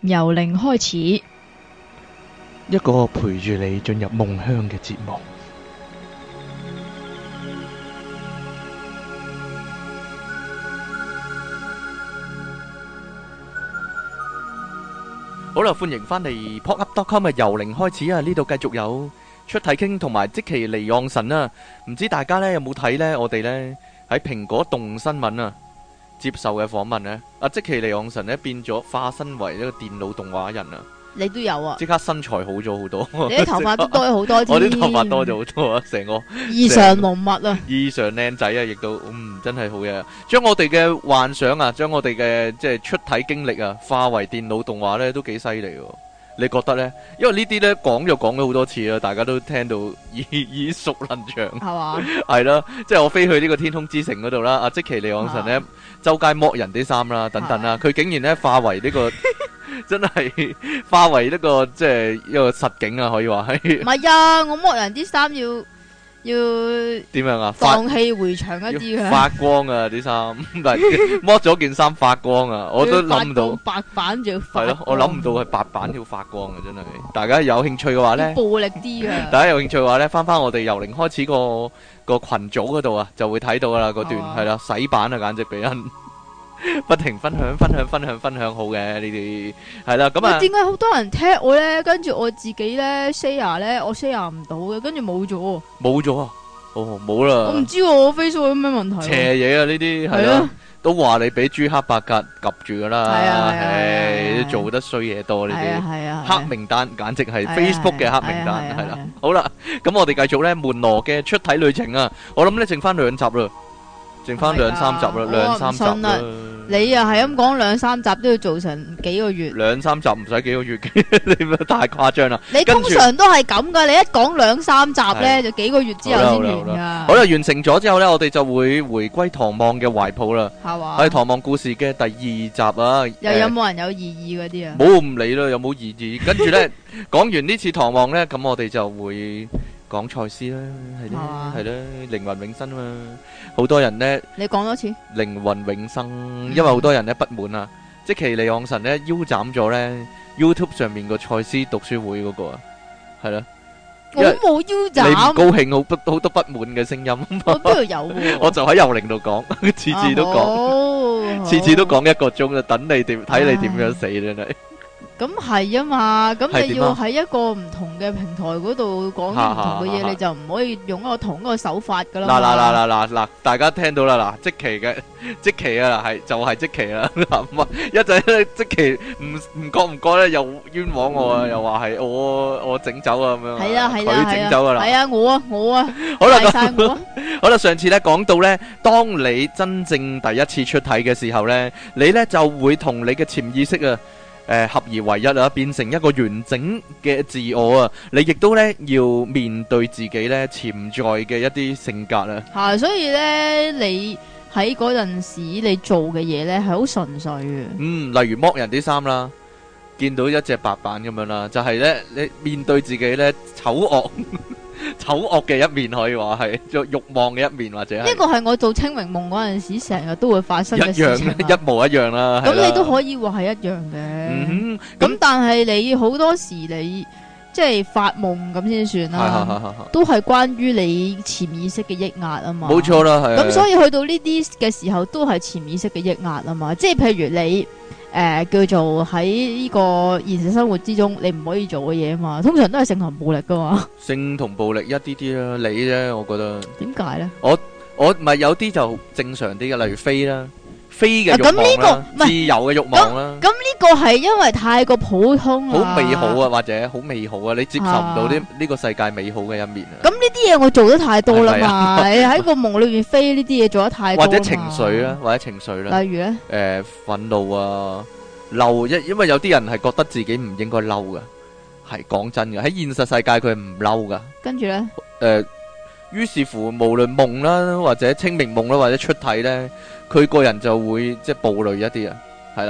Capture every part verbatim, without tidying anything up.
由零開始， 一個陪住你進入夢鄉嘅節目。好啦，歡迎翻嚟 pop up dot com 嘅由零開始啊！呢度繼續有出體傾同埋即其離岸神啊！唔知大家呢有冇睇呢？我哋呢喺蘋果動新聞啊接受嘅訪問呢，阿即其離岸神呢變咗化身為一個電腦動畫人啊！ 你都有啊？ 即刻身材好咗好多， 你啲頭髮都多咗好多添。 我啲頭髮多咗好多啊！成個異常濃密啊！ 異常靚仔啊！亦都嗯真係好嘢，將我哋嘅幻想啊，將我哋嘅即係出體經歷啊，化為電腦動畫呢，都幾犀利喎！你覺得呢？因為呢啲呢講就講咗好多次啦，大家都聽到耳耳熟能詳， 係嘛？ 係啦，即係我飛去呢個天空之城嗰度啦，阿即其離岸神呢，周街剝人啲衫啦，等等啦，佢竟然呢化為呢個。真係化為一個即係一個實景啊，可以話係。唔係啊，我剝人啲衫要要點樣啊？ 蕩氣回腸一啲嘅。 發光啊啲衫，唔係剝咗件衫發光啊！我都諗唔到白板仲要發光。 係咯，我諗唔到係白板要發光啊！真係，大家有興趣嘅話咧， 暴力啲嘅。 大家有興趣嘅話咧，翻翻我哋由零開始個個群組嗰度啊，就會睇到噶啦，嗰段係啦，洗版啊，簡直俾人。不停分享分享分享分享好嘅呢啲係啦，咁啊點解好多人踢我咧？跟住我自己咧 share 咧，我 share 唔到嘅，跟住冇咗，冇咗啊！哦，冇啦！ 我唔知我 Facebook 有咩問題。 邪嘢啊！呢啲係啦，都話你俾朱黑白格夾住噶啦， 係啊， 係做得衰嘢多呢啲， 係啊， 黑名單簡直係 Facebook 嘅黑名單，係啦。好啦，咁我哋繼續咧門羅嘅出體旅程啊！我諗咧剩翻兩集啦。剩翻兩三集啦，兩三集啦。 你又係咁講兩三集都要做成幾個月？ 兩三集唔使幾個月嘅，你咪太誇張啦！ 你通常都係咁噶，你一講兩三集咧，就幾個月之後先完噶。 好啦，完成咗之後咧，我哋就會回歸唐望嘅懷抱啦。 係嘛？ 係唐望故事嘅第二集啊。 又有冇人有異議嗰啲啊？ 冇唔理啦，有冇異議？跟住咧，講完呢次唐望咧，咁我哋就會。講賽斯啦，係啦，係啦，靈魂永生啊嘛，好多人咧， 你講多次靈魂永生，因為好多人咧不滿啊，即其離岸神咧腰斬咗咧 YouTube 上面個賽斯讀書會嗰個啊，係啦， 我冇腰斬， 你唔高興，好不好多不滿嘅聲音， 我邊度有？ 我就喺幽靈度講，次次都講，次次都講一個鐘啊，等你點睇你點樣死真係。 咁係啊嘛，咁你要喺一個唔同嘅平台嗰度講唔同嘅嘢，你就唔可以用一個同一個手法噶啦。 嗱嗱嗱嗱嗱嗱，大家聽到啦，嗱，即期嘅即期啊，係就係即期啦，一陣咧即期唔唔覺唔覺咧又冤枉我啊，又話係我我整走啊咁樣， 係啊係啊， 佢整走噶啦， 係啊我啊我啊， 好啦咁，好啦，上次咧講到咧，當你真正第一次出體嘅時候咧，你咧就會同你嘅潛意識啊。誒、呃，合而為一啊，變成一個完整嘅自我啊！你亦都咧要面對自己咧潛在嘅一啲性格啊！ 係，所以咧你喺嗰陣時你做嘅嘢咧係好純粹嘅。嗯， 例如剝人啲衫啦，見到一隻白板咁樣啦，就係、是、咧你面對自己咧醜惡。醜惡嘅一面可以話係欲欲望嘅一面，或者係呢個係我做清明夢嗰陣時成日都會發生嘅事情， 一樣一模一樣啦。 咁你都可以話係一樣嘅。嗯咁、嗯、但係你好多時你即係發夢咁先算啦，都係關於你潛意識嘅抑壓啊嘛。 冇錯啦，係。 咁所以去到呢啲嘅時候，都係潛意識嘅抑壓啊嘛。即係譬如你。誒、呃，叫做喺呢個現實生活之中，你唔可以做嘅嘢啊嘛，通常都係性同暴力噶嘛。 性同暴力一啲啲啦，你啫，我覺得。點解咧？ 我我唔係有啲就正常啲嘅，例如飛啦，飛嘅欲望啦，啊這個、自由嘅欲望啦。咁呢個係因為太過普通啦， 好美好啊，或者好美好啊，你接受唔到呢呢個世界美好嘅一面啊。 咁呢啲嘢我做得太多啦嘛，喺個夢裏邊飛呢啲嘢做得太多。 或者情緒啦，或者情緒啦。 例如咧？誒、 呃，憤怒啊。嬲，因因為有啲人係覺得自己唔應該嬲噶，係講真嘅，喺現實世界佢係唔嬲噶。 跟住咧，誒、 呃，於是乎無論夢啦，或者清明夢啦，或者出體咧，佢個人就會即係暴戾一啲啊，係啦，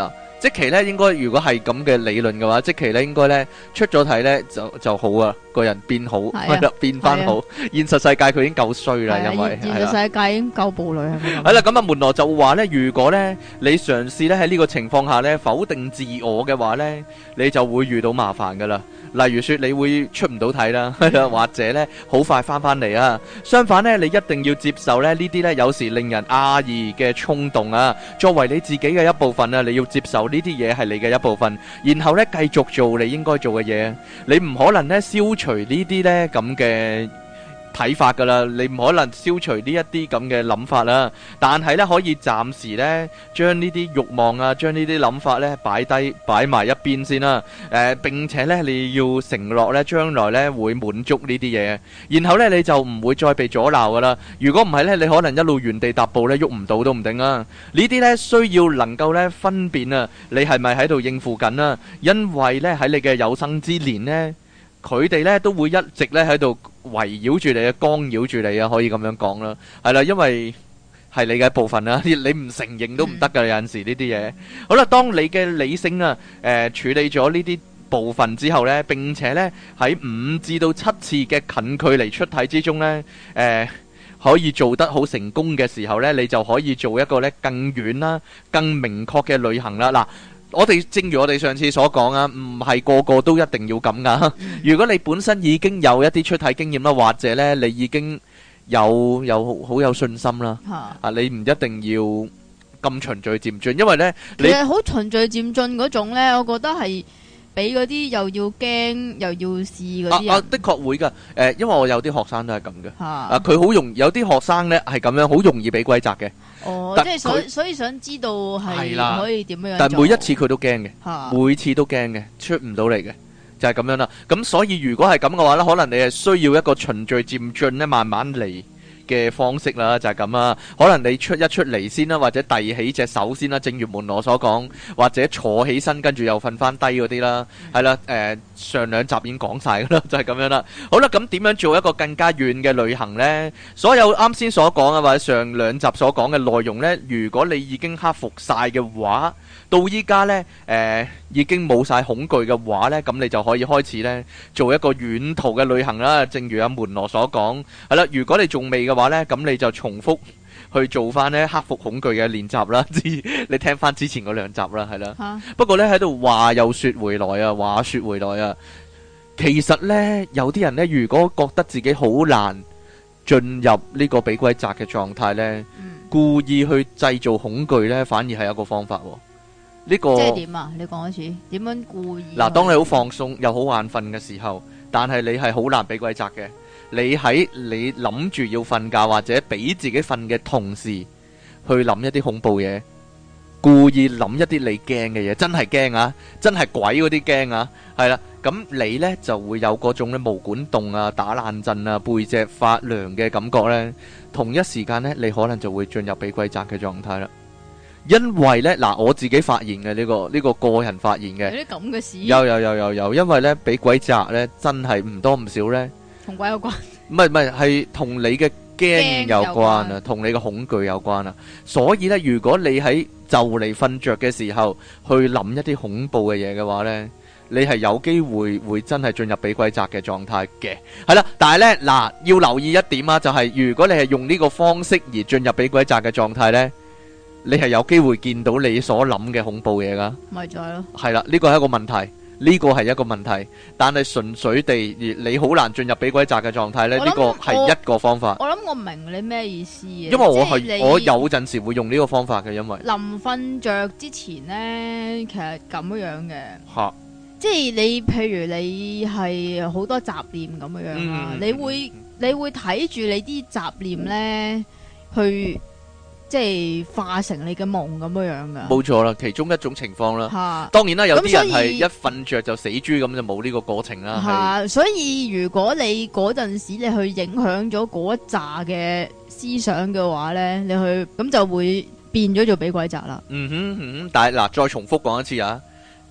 即期咧應該如果係咁嘅理論嘅話，即期咧應該咧出咗體咧就就好啊，個人變好，係啦，變翻好。現實世界佢已經夠衰啦，因為現實世界已經夠暴戾係咪？ 係啦，咁啊門羅就話咧，如果咧你嘗試咧喺呢個情況下咧否定自我嘅話咧，你就會遇到麻煩噶啦。例如說你會出唔到體啦，或者咧好快翻翻嚟啊。相反咧，你一定要接受咧呢啲咧有時令人訝異嘅衝動啊，作為你自己嘅一部分啊，你要接受呢啲嘢係你嘅一部分，然後咧繼續做你應該做嘅嘢。你唔可能咧消除呢啲咧咁嘅睇法噶啦，你唔可能消除呢一啲咁嘅諗法啦，但係咧可以暫時咧將呢啲慾望啊，將呢啲諗法咧擺低擺埋一邊先啦。誒，並且咧你要承諾咧將來咧會滿足呢啲嘢，然後咧你就唔會再被阻撓噶啦。如果唔係咧，你可能一路原地踏步咧喐唔到都唔定啊。呢啲咧需要能夠咧分辨啊，你係咪喺度應付緊啊？因為咧喺你嘅有生之年咧，佢哋咧都會一直咧喺度圍繞住你啊，干擾住你啊，可以咁樣講啦，係啦，因為係你嘅一部分啦，你唔承認都唔得噶，有陣時呢啲嘢。好啦，當你嘅理性啊，誒處理咗呢啲部分之後咧，並且咧喺五至到七次嘅近距離出體之中咧，誒可以做得好成功嘅時候咧，你就可以做一個咧更遠啦、更明確嘅旅行啦。嗱。我哋正如我哋上次所講啊，唔係個個都一定要咁噶。如果你本身已經有一啲出體經驗啦，或者咧你已經有有好有信心啦，啊，你唔一定要咁循序漸進，因為咧你其實好循序漸進嗰種咧，我覺得係俾嗰啲又要驚又要試嗰啲人。 啊啊，的確會噶，誒，因為我有啲學生都係咁嘅，啊，佢好容易有啲學生咧係咁樣，好容易俾鬼責嘅。 哦，即係所所以想知道係可以點樣做， 但係每一次佢都驚嘅，每次都驚嘅，出唔到嚟嘅，就係咁樣啦。咁所以如果係咁嘅話咧，可能你係需要一個循序漸進咧，慢慢嚟嘅方式啦，就係咁啊。可能你出一出嚟先啦，或者遞起隻手先啦，正如門羅所講，或者坐起身跟住又瞓翻低嗰啲啦，係啦，誒，上兩集已經講晒噶啦，就係咁樣啦。好啦，咁點樣做一個更加遠嘅旅行呢？所有啱先所講啊，或者上兩集所講嘅內容呢，如果你已經克服晒嘅話，到依家呢，誒，已經冇晒恐懼嘅話呢，咁你就可以開始呢做一個遠途嘅旅行啦。正如阿門羅所講，係啦，如果你仲未嘅話呢，咁你就重複去做翻呢克服恐懼嘅練習啦。你聽翻之前嗰兩集啦，係啦。啊、不過呢，喺度話又說回來啊，話說回來啊，其實呢，有啲人呢，如果覺得自己好難進入呢個俾鬼責嘅狀態呢，嗯、故意去製造恐懼呢，反而係一個方法。呢、這個即係點啊？你講一次，點樣故意？ 嗱，當你好放鬆又好眼瞓嘅時候，但係你係好難俾鬼責嘅。你喺你諗住要瞓覺或者俾自己瞓嘅同時，去諗一啲恐怖嘢，故意諗一啲你驚嘅嘢，真係驚啊！真係鬼嗰啲驚啊！係啦，咁你呢就會有嗰種咧毛管戙啊、打冷震啊、背脊發涼嘅感覺呢。同一時間呢，你可能就會進入俾鬼責嘅狀態啦。因為咧，嗱，我自己發現嘅呢個呢個個人發現嘅， 有啲咁嘅事， 有有有有有，因為咧俾鬼責咧，真係唔多唔少咧， 同鬼有關， 唔係唔係，係同你嘅驚有關啊，同你嘅恐懼有關啊，所以咧，如果你喺就嚟瞓着嘅時候去諗一啲恐怖嘅嘢嘅話咧，你係有機會會真係進入俾鬼責嘅狀態嘅，係啦，但係咧嗱，要留意一點啊，就係如果你係用呢個方式而進入俾鬼責嘅狀態咧。你係有機會見到你所諗嘅恐怖嘢噶， 咪就係咯， 係啦，呢個係一個問題，呢個係一個問題，但係純粹地，你好難進入俾鬼責嘅狀態咧，呢個係一個方法。 我諗我明你咩意思嘅， 因為我係我有陣時會用呢個方法嘅，因為臨瞓着之前咧，其實咁樣嘅， 吓， 即係你譬如你係好多雜念咁樣樣啊，你會你會睇住你啲雜念咧去。即係化成你嘅夢咁樣樣噶， 冇錯啦，其中一種情況啦。吓，當然啦，有啲人係一瞓着就死豬咁，就冇呢個過程啦。 吓，所以如果你嗰陣時你去影響咗嗰一紮嘅思想嘅話咧，你去咁就會變咗做俾鬼責啦。 嗯哼嗯哼，但係嗱，再重複講一次啊，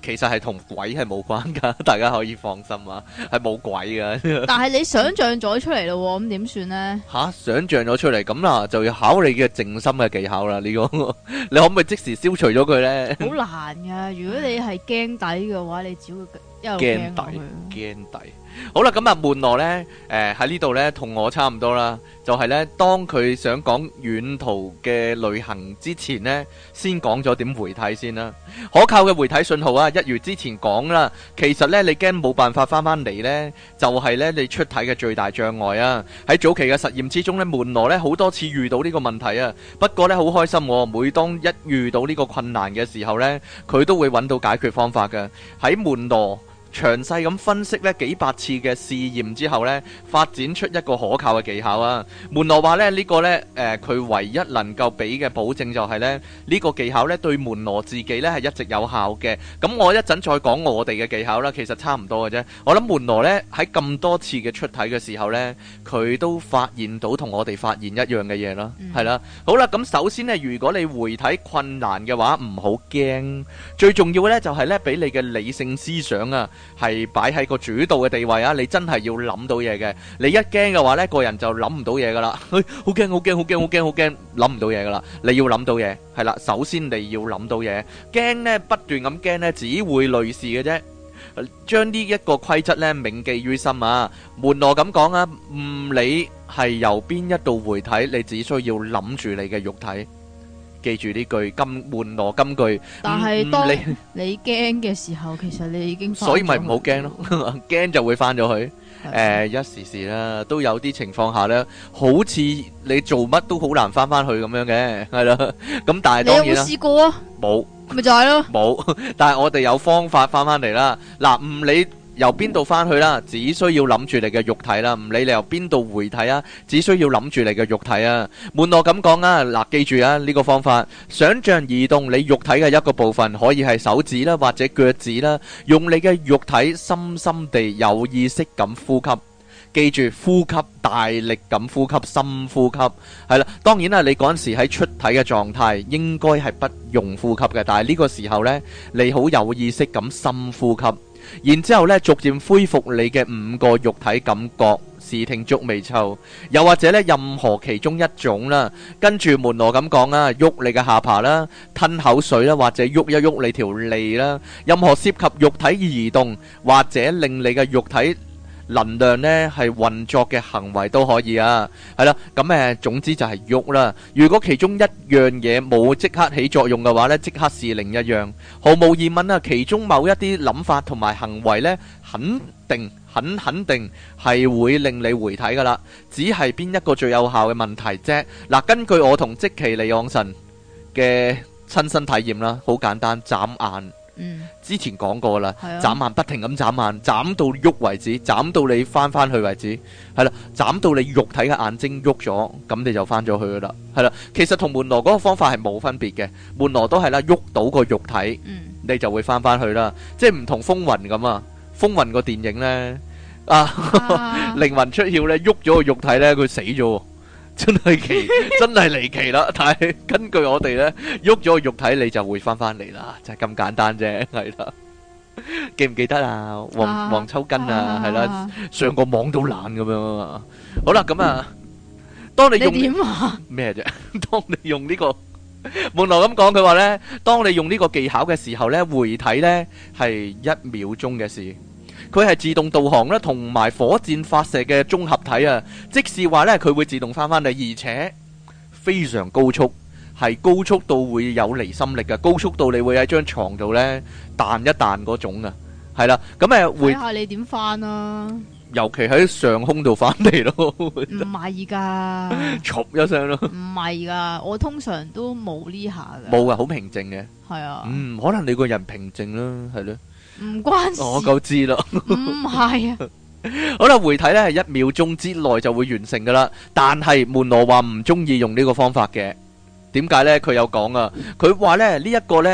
其實係同鬼係冇關噶，大家可以放心啊，係冇鬼噶。 但係你想象咗出嚟咯，咁點算呢？ 吓，想象咗出嚟咁啦，就要考你嘅靜心嘅技巧啦。呢個你可唔可以即時消除咗佢呢？ 好難噶，如果你係驚底嘅話，你只會一路驚驚底，驚底。好啦，咁啊，門羅呢，誒喺呢度呢，同我差唔多啦，就係呢，當佢想講遠途嘅旅行之前呢，先講咗點回體先啦。可靠嘅回體信號啊，一如之前講啦，其實呢，你驚冇辦法翻翻嚟呢，就係呢，你出體嘅最大障礙啊。喺早期嘅實驗之中呢，門羅呢好多次遇到呢個問題啊，不過呢，好開心喎，每當一遇到呢個困難嘅時候呢，佢都會揾到解決方法嘅。喺門羅詳細咁分析呢幾百次嘅試驗之後呢，發展出一個可靠嘅技巧啊。門羅話呢，呢個呢，誒佢唯一能夠俾嘅保證就係呢，呢個技巧呢對門羅自己呢係一直有效嘅。咁我一陣再講我哋嘅技巧啦，其實差唔多嘅啫。我諗門羅呢喺咁多次嘅出體嘅時候呢，佢都發現到同我哋發現一樣嘅嘢啦，係啦。好啦，咁首先呢，如果你回體困難嘅話，唔好驚。最重要嘅呢就係呢，俾你嘅理性思想啊，係擺喺個主導嘅地位啊！你真係要諗到嘢嘅。你一驚嘅話呢，個人就諗唔到嘢噶啦。好驚，好驚，好驚，好驚，好驚，諗唔到嘢噶啦。你要諗到嘢，係啦。首先你要諗到嘢，驚呢不斷咁驚呢，只會累事嘅啫。將呢一個規則呢銘記於心啊！門羅咁講啊，唔理係由邊一度回體，你只需要諗住你嘅肉體。記住呢句金門羅金句， 但係當你驚嘅時候，其實你已經所以咪唔好驚咯，驚就會翻咗去。誒，一時時啦，都有啲情況下咧，好似你做乜都好難翻翻去咁樣嘅，係啦。咁但係當然啦， 你有冇試過啊？ 冇， 咪就係咯， 冇。但係我哋有方法翻翻嚟啦。嗱，唔理由邊度翻去啦，只需要諗住你嘅肉體啦，唔理你由邊度回體啊，只需要諗住你嘅肉體啊。門羅咁講啊，嗱，記住啊，呢個方法，想象移動你肉體嘅一個部分，可以係手指啦，或者腳趾啦，用你嘅肉體深深地有意識咁呼吸。記住呼吸，大力咁呼吸，深呼吸，係啦。當然啦，你嗰陣時喺出體嘅狀態，應該係不用呼吸嘅，但係呢個時候呢，你好有意識咁深呼吸。然之後咧，逐漸恢復你嘅五個肉體感覺，視聽觸味嗅，又或者咧任何其中一種啦。跟住門羅咁講啊，喐你嘅下巴啦，吞口水啦，或者喐一喐你條脷啦。任何涉及肉體移動或者令你嘅肉體能量呢係運作嘅行為都可以啊。係啦，咁誒總之就係喐啦。如果其中一樣嘢冇即刻起作用嘅話呢，即刻試另一樣。毫無疑問啊，其中某一啲諗法同埋行為呢，肯定很肯定係會令你回體噶啦。只係邊一個最有效嘅問題啫。嗱，根據我同即其利昂神嘅親身體驗啦，好簡單，眨眼。嗯，之前講過啦，眨眼不停咁眨眼，眨到喐為止，眨到你翻翻去為止，係啦，眨到你肉體嘅眼睛喐咗，咁你就翻咗去噶啦，係啦。其實同門羅嗰個方法係冇分別嘅，門羅都係啦，喐到個肉體，嗯、你就會翻翻去啦，即係唔同風雲咁啊。風雲個電影呢，啊，靈、啊、魂出竅呢，喐咗個肉體呢，佢死咗。真係奇，真係離奇啦！但係根據我哋呢，喐咗個肉體，你就會翻翻嚟啦，就係咁簡單啫，係啦。記唔記得啊？黃黃秋根啊，係啦，上個網都懶咁樣啊。好啦，咁啊，當你用咩啫？當你用呢個門羅咁講，佢話呢，當你用呢個技巧嘅時候呢，回體呢係一秒鐘嘅事。佢係自動導航啦，同埋火箭發射嘅綜合體啊！即是話呢，佢會自動翻返嚟，而且非常高速，係高速到會有離心力嘅，高速到你會喺張床度呢彈一彈嗰種啊！係啦，咁誒會睇下你點翻啊！尤其喺上空度翻嚟咯，唔係噶，嘈一聲咯，唔係噶，我通常都冇呢下嘅，冇噶，好平靜嘅，係啊，嗯，可能你個人平靜啦，係咯。唔關事，我夠知啦。唔係啊，好啦，回體咧係一秒鐘之內就會完成噶啦。但係門羅話唔中意用呢個方法嘅，點解呢？佢有講啊，佢話咧呢一個呢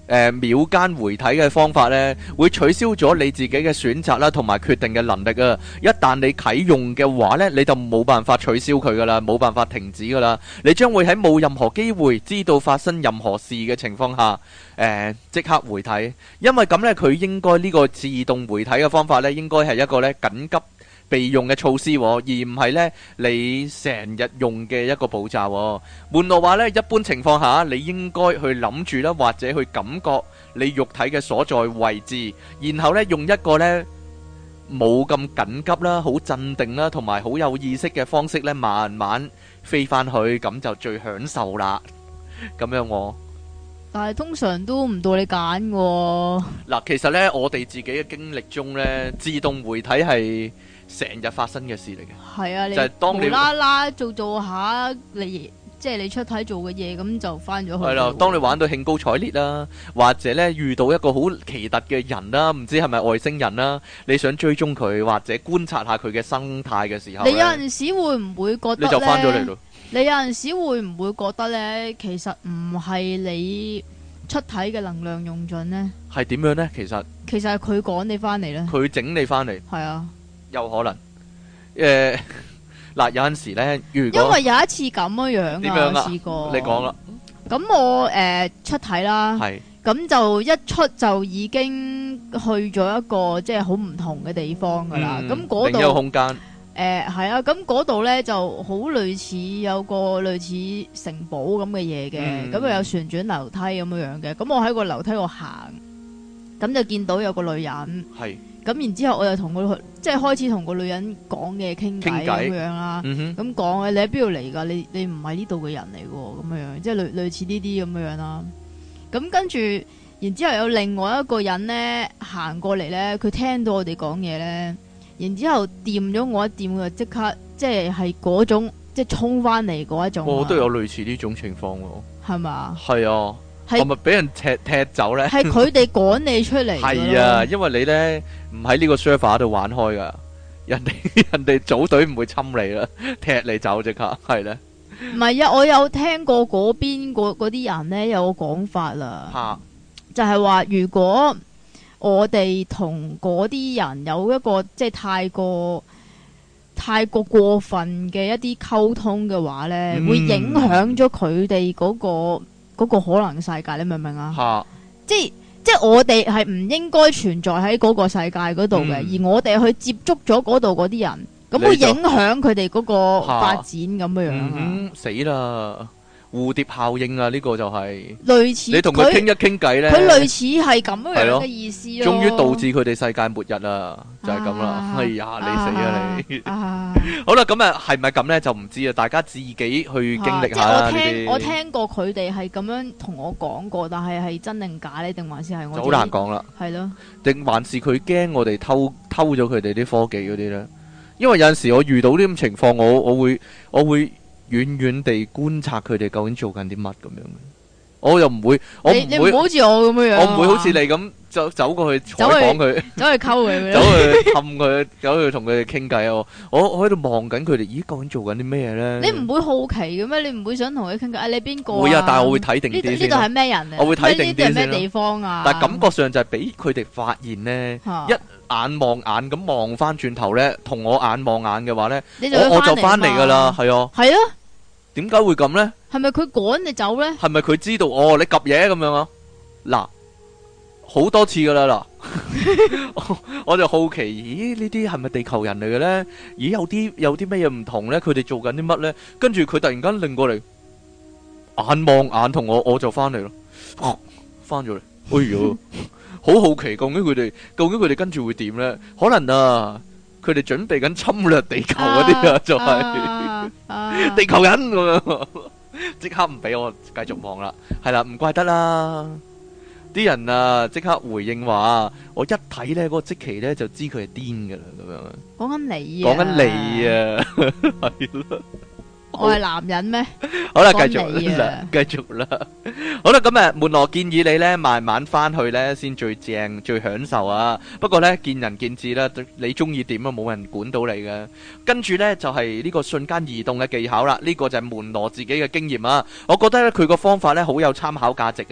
誒秒間回體嘅方法呢，會取消咗你自己嘅選擇啦，同埋決定嘅能力啊！一旦你啟用嘅話呢，你就冇辦法取消佢噶啦，冇辦法停止噶啦。你將會喺冇任何機會知道發生任何事嘅情況下，誒即刻回體。因為咁呢，佢應該呢個自動回體嘅方法呢，應該係一個呢緊急備用嘅措施，而唔係呢你成日用嘅一個步驟。門羅話呢，一般情況下，你應該去諗住啦，或者去感覺你肉體嘅所在位置，然後呢用一個呢冇咁緊急啦、好鎮定啦，同埋好有意識嘅方式呢，慢慢飛翻去，咁就最享受啦。咁樣我， 但係通常都唔到你揀喎。 嗱，其實呢，我哋自己嘅經歷中呢，自動回體係成日發生嘅事嚟嘅。 係啊，你就係當你無啦啦做做下你即係你出體做嘅嘢，咁就翻咗去。 係啦，當你玩到興高采烈啦，或者咧遇到一個好奇特嘅人啦，唔知係咪外星人啦，你想追蹤佢或者觀察下佢嘅生態嘅時候， 你有陣時會唔會覺得你就翻咗嚟咯？ 你有陣時會唔會覺得咧，其實唔係你出體嘅能量用盡呢？ 係點樣呢？其實其實係佢趕你翻嚟咧。 佢整你翻嚟， 係啊， 有可能。誒，嗱，有陣時咧，如果因為有一次咁樣樣點樣啊？ 我試過。 你講啦。 咁我誒出體啦， 係咁就一出就已經去咗一個即係好唔同嘅地方噶啦。咁嗰另一個度空間誒係啊，咁嗰度咧就好類似有個類似城堡咁嘅嘢嘅，咁啊有旋轉樓梯咁樣樣嘅。咁我喺個樓梯度行，咁就見到有個女人。係。咁然之後我就同佢即係開始同個女人講嘢傾偈咁樣啦，咁講啊，你喺邊度嚟㗎？你你唔係呢度嘅人嚟喎，咁樣即係類類似呢啲咁樣啦。咁跟住，然之後有另外一個人咧行過嚟咧，佢聽到我哋講嘢咧，然之後掂咗我一掂，佢就即刻即係係嗰種即係衝翻嚟嗰一種。 我都有類似呢種情況喎。係嘛？ 係啊。係咪俾人踢踢走咧？ 係佢哋趕你出嚟。 係啊，因為你咧唔喺呢個 server 度玩開噶，人哋人哋組隊唔會侵你啦，踢你走即刻係咧。 唔係啊，我有聽過嗰邊嗰嗰啲人咧有個講法啦， 啊、 就係話如果我哋同嗰啲人有一個即係太過太過過分嘅一啲溝通嘅話咧，嗯、會影響咗佢哋嗰個。嗰個可能世界，你明唔明啊？哈即係即係我哋係唔應該存在喺嗰個世界嗰度嘅，嗯、而我哋去接觸咗嗰度嗰啲人，咁會影響佢哋嗰個發展咁樣樣啊！ 嗯、死啦！蝴蝶效應啊，呢、這個就係、是、 類似。你同佢傾一傾偈咧，佢類似係咁樣嘅意思咯。 終於導致佢哋世界末日啦，就係咁啦。哎呀，你死啊你！啊好啦，咁啊，係咪咁咧就唔知啊，大家自己去經歷下啦。 即係我聽我聽過佢哋係咁樣同我講過，但係係真定假咧，定還是係我？ 好難講啦。 係咯。 定還是佢驚我哋偷偷咗佢哋啲科技嗰啲咧？因為有陣時我遇到呢種情況，我我會我會。遠遠地觀察佢哋究竟做緊啲乜咁樣，我又唔會，我唔會， 你唔好似我咁樣， 我唔會好似你咁走走過去採訪佢， 走去溝佢， 走去氹佢，走去同佢哋傾偈。我我我喺度望緊佢哋，咦，究竟做緊啲咩咧？ 你唔會好奇嘅咩？你唔會想同佢傾偈？啊，你邊個？ 會啊，但係我會睇定啲先。呢呢度係咩人嚟？ 我會睇定啲先。 咩地方啊？ 但係感覺上就係俾佢哋發現咧，一眼望眼咁望翻轉頭咧，同我眼望眼嘅話咧，我我就翻嚟噶啦，係啊， 係啊。 點解會咁呢？ 係咪佢趕你走呢？ 係咪佢知道哦？你 𥄫 嘢咁樣啊？嗱，好多次噶啦嗱，我就好奇，咦？呢啲係咪地球人嚟嘅呢？咦？有啲有啲咩嘢唔同呢？佢哋做緊啲乜呢？跟住佢突然間擰過嚟，眼望眼同我，我就翻嚟咯，翻咗嚟。哎喲，好好奇，究竟佢哋究竟佢哋跟住會點呢？可能啊。佢哋準備緊侵略地球嗰啲啊，就係地球人咁樣，即刻唔俾我繼續望啦。係啦，唔怪得啦。啲人啊，即刻回應話：我一睇咧，嗰個積奇咧就知佢係癲噶啦，咁樣。講緊你啊！講緊你啊！係咯。我係男人咩？好啦，繼續啦，繼續啦。好啦，咁啊，門羅建議你咧，慢慢翻去咧，先最正、最享受啊。不過咧，見仁見智啦，你中意點啊，冇人管到你嘅。跟住咧就係呢個瞬間移動嘅技巧啦。呢個就係門羅自己嘅經驗啊。我覺得咧佢個方法咧好有參考價值啊。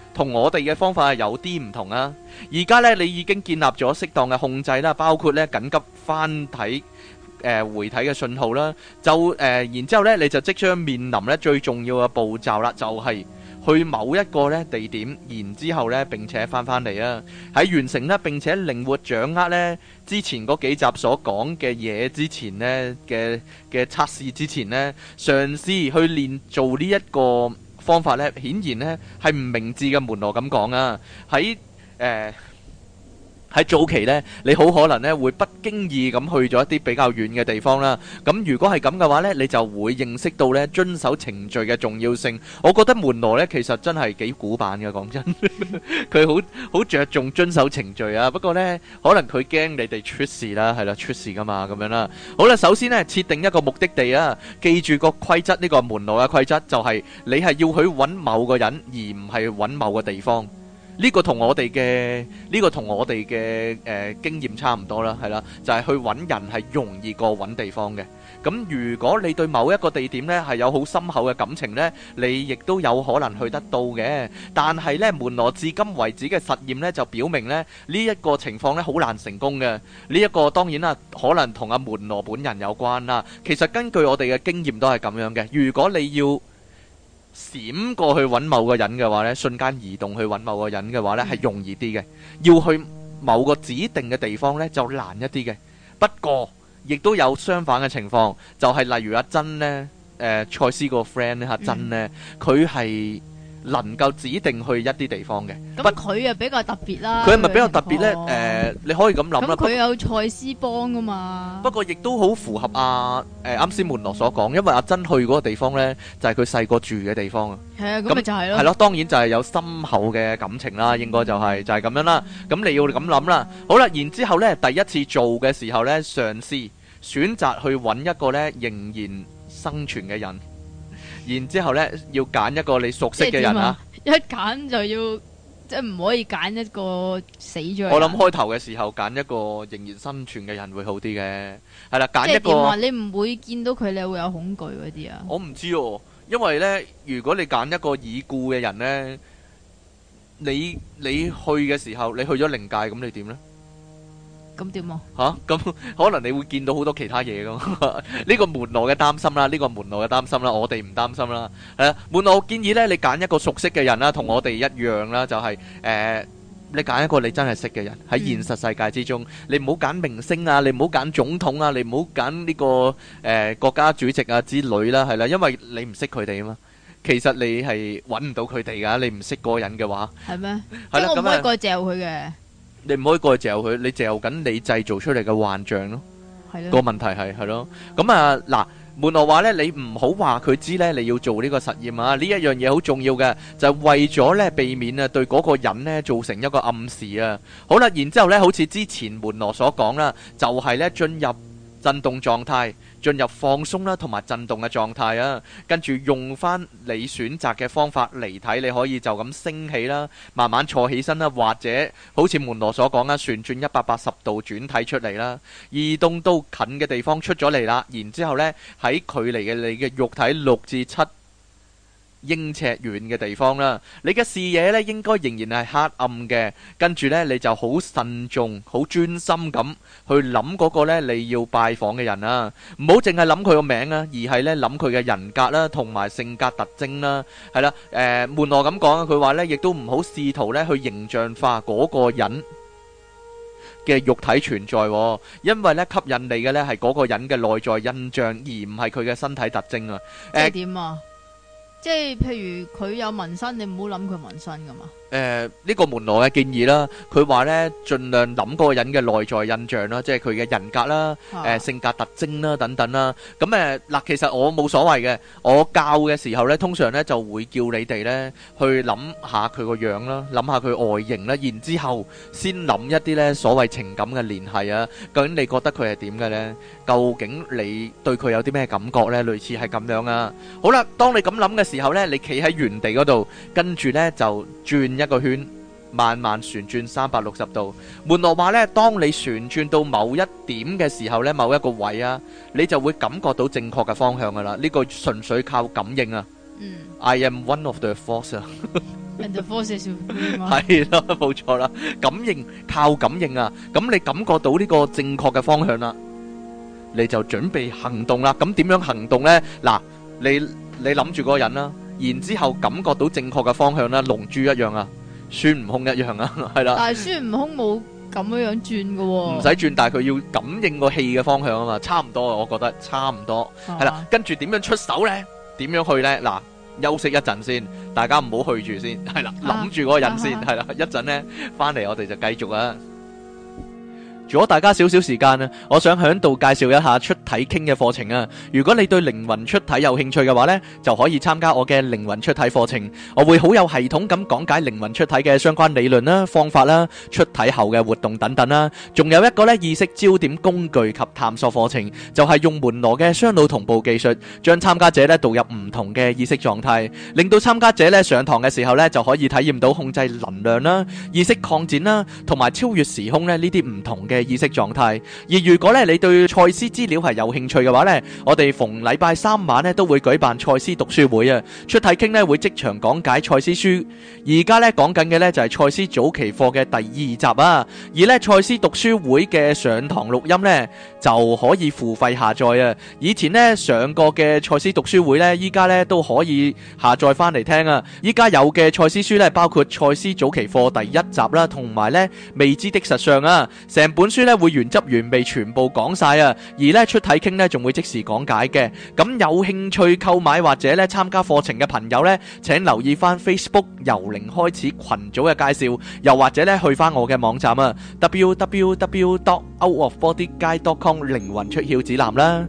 同我哋嘅方法係有啲唔同啊。而家呢，你已經建立咗適當嘅控制啦，包括呢緊急翻睇誒回睇嘅信號啦，就誒、呃、然之後呢，你就即將面臨呢最重要嘅步驟啦，就係、是去某一個咧地點，然之後咧並且翻返嚟啊！喺完成咧並且靈活掌握咧之前嗰幾集所講嘅嘢之前呢嘅嘅測試之前呢，嘗試去練做呢一個方法咧，顯然呢係唔明智嘅。門羅咁講啊，喺誒。喺早期呢，你好可能呢會不經意咁去咗一啲比較遠嘅地方啦。咁如果係咁嘅話呢，你就會認識到呢遵守程序嘅重要性。我覺得門羅呢其實真係幾古板嘅，講真，佢好好着重遵守程序啊。不過呢，可能佢驚你哋出事啦，係啦，出事噶嘛，咁樣啦。好啦，首先呢，設定一個目的地啊，記住個規則，呢個門羅嘅規則就係你係要去揾某個人，而唔係揾某個地方。呢個同我哋嘅呢個同我哋嘅誒經驗差唔多啦，係啦，就係去揾人係容易過揾地方嘅。咁如果你對某一個地點呢係有好深厚嘅感情呢，你亦都有可能去得到嘅。但係呢，門羅至今為止嘅實驗呢就表明呢，呢一個情況呢好難成功嘅。呢一個當然啦，可能同阿門羅本人有關啦。其實根據我哋嘅經驗都係咁樣嘅。如果你要閃過去揾某個人嘅話呢，瞬間移動去揾某個人嘅話呢係容易啲嘅。要去某個指定嘅地方呢就難一啲嘅。不過亦都有相反嘅情況，就係例如阿珍呢，誒賽斯個 friend 呢，阿珍呢，佢係能夠指定去一啲地方嘅。 咁佢啊比較特別啦。 佢係咪比較特別呢？誒，你可以咁諗啦。 咁佢有賽斯幫噶嘛？ 不過亦都好符合阿誒啱先門羅所講，因為阿珍去嗰個地方呢，就係佢細個住嘅地方啊。 係啊，咁咪就係咯。 係咯，當然就係有深厚嘅感情啦，應該就係就係咁樣啦。咁你要咁諗啦。好啦，然之後呢，第一次做嘅時候呢，嘗試選擇去揾一個呢仍然生存嘅人，然之後呢要揀一個你熟悉嘅人啊。 一揀就要即係唔可以揀一個死咗。 我諗開頭嘅時候揀一個仍然生存嘅人會好啲嘅，係啦，揀一個。即係點啊？你唔會見到佢，你會有恐懼嗰啲啊？ 我唔知哦，因為呢，如果你揀一個已故嘅人呢，你你去嘅時候，你去咗靈界，咁你點呢？ 咁點啊？ 吓，咁可能你會見到好多其他嘢噶嘛？呢個門羅嘅擔心啦，呢個門羅嘅擔心啦，我哋唔擔心啦。誒，門羅建議呢，你揀一個熟悉嘅人啦，同我哋一樣啦，就係誒，你揀一個你真係識嘅人喺現實世界之中，你唔好揀明星啊，你唔好揀總統啊，你唔好揀呢個誒國家主席啊之類啦，係啦，因為你唔識佢哋啊嘛。其實你係揾唔到佢哋噶，你唔識嗰個人嘅話。係咩？ 即係我唔可以過去嚼佢嘅。你唔可以過去嚼佢，你嚼緊你製造出嚟嘅幻象咯。係咯。個問題係係咯。咁啊嗱，門羅話咧，你唔好話佢知咧，你要做呢個實驗啊。呢一樣嘢好重要嘅，就係為咗咧避免啊對嗰個人咧造成一個暗示啊。好啦，然之後咧，好似之前門羅所講啦，就係咧進入震動狀態。進入放鬆啦，同埋震動嘅狀態啊，跟住用翻你選擇嘅方法嚟睇，你可以就咁升起啦，慢慢坐起身啦，或者好似門羅所講啦，旋轉一百八十度轉體出嚟啦，移動到近嘅地方出咗嚟啦，然之後呢喺距離嘅你嘅肉體六至七英尺遠嘅地方啦，你嘅視野咧應該仍然係黑暗嘅，跟住呢，你就好慎重、好專心咁去諗嗰個呢你要拜訪嘅人啊，唔好淨係諗佢個名啊，而係呢諗佢嘅人格啦，同埋性格特徵啦，係啦，誒門羅咁講啊，佢話呢亦都唔好試圖呢去形象化嗰個人嘅肉體存在，因為呢吸引你嘅呢係嗰個人嘅內在印象，而唔係佢嘅身體特徵啊。 即係點啊？即係譬如佢有紋身，你唔好諗佢紋身噶嘛。 誒，呢個門羅嘅建議啦，佢話呢盡量諗嗰個人嘅內在印象啦，即係佢嘅人格啦，誒性格特徵啦等等啦。咁誒嗱，其實我冇所謂嘅，我教嘅時候呢，通常呢就會叫你哋呢去諗下佢個樣啦，諗下佢外形啦，然之後先諗一啲呢所謂情感嘅聯繫啊。究竟你覺得佢係點嘅呢？究竟你對佢有啲咩感覺呢？類似係咁樣啊。好啦，當你咁諗嘅時候呢，你企喺原地嗰度，跟住呢就轉一個圈，慢慢旋轉三百六十度。門羅話呢，當你旋轉到某一點嘅時候呢，某一個位啊，你就會感覺到正確嘅方向噶啦。呢個純粹靠感應啊。嗯。I am one of the force 啊。 人就 force 少少嘛。 係啦，冇錯啦，感應靠感應啊，咁你感覺到呢個正確嘅方向啦，你就準備行動啦。咁點樣行動呢？嗱，你你諗住嗰個人啦，然之後感覺到正確嘅方向啦，龍珠一樣啊，孫悟空一樣啊，係啦。 但係孫悟空冇咁樣樣轉嘅喎。 唔使轉，但係佢要感應個氣嘅方向啊嘛，差唔多啊，我覺得差唔多。係啦，跟住點樣出手呢？點樣去呢？嗱。休息一陣先，大家唔好去住先，係啦，諗住嗰個人先，係啦，一陣呢翻嚟我哋就繼續啊。如果大家少少時間啊，我想喺度介紹一下出體傾嘅課程啊。如果你對靈魂出體有興趣嘅話呢，就可以參加我嘅靈魂出體課程。我會好有系統咁講解靈魂出體嘅相關理論啦、方法啦、出體後嘅活動等等啦。仲有一個呢意識焦點工具及探索課程，就係用門羅嘅雙腦同步技術，將參加者呢導入唔同嘅意識狀態，令到參加者呢上堂嘅時候呢就可以體驗到控制能量啦、意識擴展啦，同埋超越時空呢呢啲唔同嘅意識狀態。而如果咧你對賽斯資料係有興趣嘅話呢，我哋逢禮拜三晚呢都會舉辦賽斯讀書會啊。出體傾呢會即場講解賽斯書。而家呢講緊嘅呢就係賽斯早期課嘅第二集啊。而呢賽斯讀書會嘅上堂錄音呢就可以付費下載啊。以前呢上過嘅賽斯讀書會呢，依家呢都可以下載翻嚟聽啊。依家有嘅賽斯書呢，包括賽斯早期課第一集啦，同埋呢未知的實相啊。成本書呢會原汁原味全部講晒啊，而呢出體傾呢仲會即時講解嘅。咁有興趣購買或者呢參加課程嘅朋友呢，請留意翻 Facebook 由零開始群組嘅介紹，又或者呢去翻我嘅網站啊 double-u double-u double-u dot out of body guide dot com 靈魂出竅指南啦。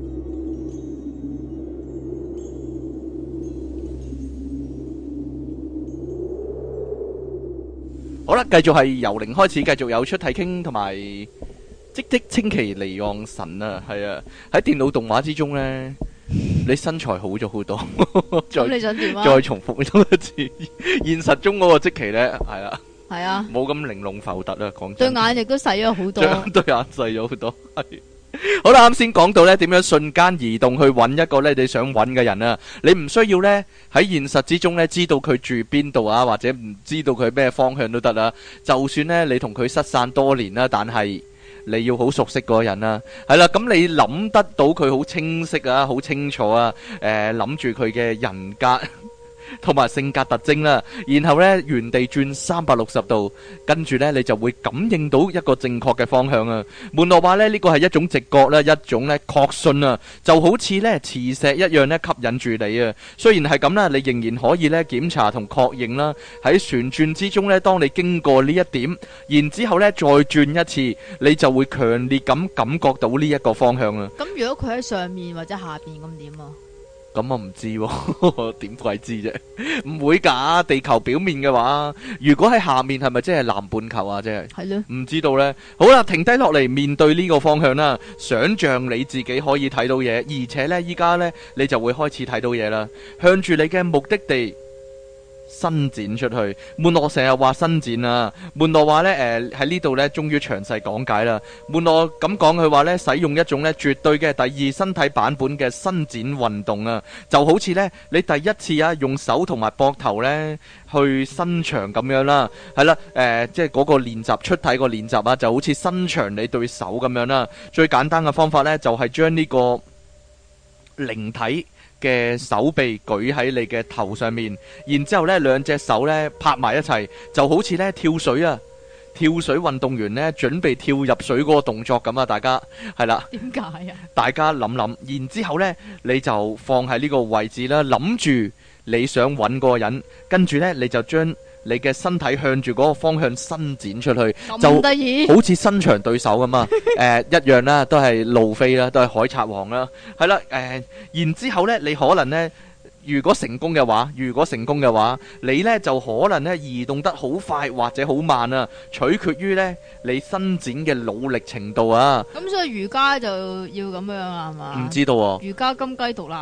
好啦，繼續係由零開始，繼續有出體傾同埋即即稱其離岸神啊，係啊，喺電腦動畫之中呢，你身材好咗好多。 咁你想點啊？ 再重複多一次，現實中嗰個即期呢，係啦， 係啊， 冇咁玲瓏浮突啊，講對真， 眼亦都細咗好多， 對眼細咗好多，係。好啦，啱先講到呢點樣瞬間移動去揾一個呢你想揾嘅人啊，你唔需要呢喺現實之中呢知道佢住邊度啊，或者唔知道佢咩方向都得啦。就算呢你同佢失散多年啦，但係你要好熟悉嗰個人啦，係啦，咁你諗得到佢好清晰啊，好清楚啊，誒諗住佢嘅人格同埋性格特徵啦，然後呢原地轉三百六十度，跟住呢你就會感應到一個正確嘅方向啊。門羅話呢呢個係一種直覺啦，一種呢確信啊，就好似呢磁石一樣呢吸引住你啊。雖然係咁啦，你仍然可以呢檢查同確認啦。喺旋轉之中呢，當你經過呢一點，然之後呢再轉一次，你就會強烈咁感覺到呢一個方向啊。 咁如果佢喺上面或者下邊咁點啊？ 咁我唔知喎，點鬼知啫？唔會㗎，地球表面嘅話，如果喺下面係咪即係南半球啊？即係係咯， 唔知道呢。好啦，停低落嚟面對呢個方向啦，想像你自己可以睇到嘢，而且呢，依家呢，你就會開始睇到嘢啦，向住你嘅目的地伸展出去。門羅成日話伸展啊，門羅話呢，誒喺呢度呢，終於詳細講解啦。門羅咁講，佢話呢，使用一種呢絕對嘅第二身體版本嘅伸展運動啊，就好似呢，你第一次啊用手同埋膊頭呢去伸長咁樣啦，係啦，誒即係嗰個練習出體個練習啊，就好似伸長你對手咁樣啦。最簡單嘅方法呢，就係將呢個靈體嘅手臂舉喺你嘅頭上面，然之後咧兩隻手咧拍埋一齊，就好似咧跳水啊，跳水運動員咧準備跳入水嗰個動作咁啊！大家係啦， 點解啊？ 大家諗諗，然之後咧你就放喺呢個位置啦，諗住你想揾嗰個人，跟住咧你就將你嘅身體向住嗰個方向伸展出去，就得意， 好似伸長對手咁啊！誒、呃，一樣啦，都係路飛啦，都係海賊王啦，係啦，誒、呃，然之後咧，你可能咧，如果成功嘅話，如果成功嘅話，你咧就可能咧移動得好快或者好慢啊，取決於咧你伸展嘅努力程度啊。 咁所以瑜伽就要咁樣啊，係嘛？ 唔知道喎、啊。 瑜伽金雞獨立。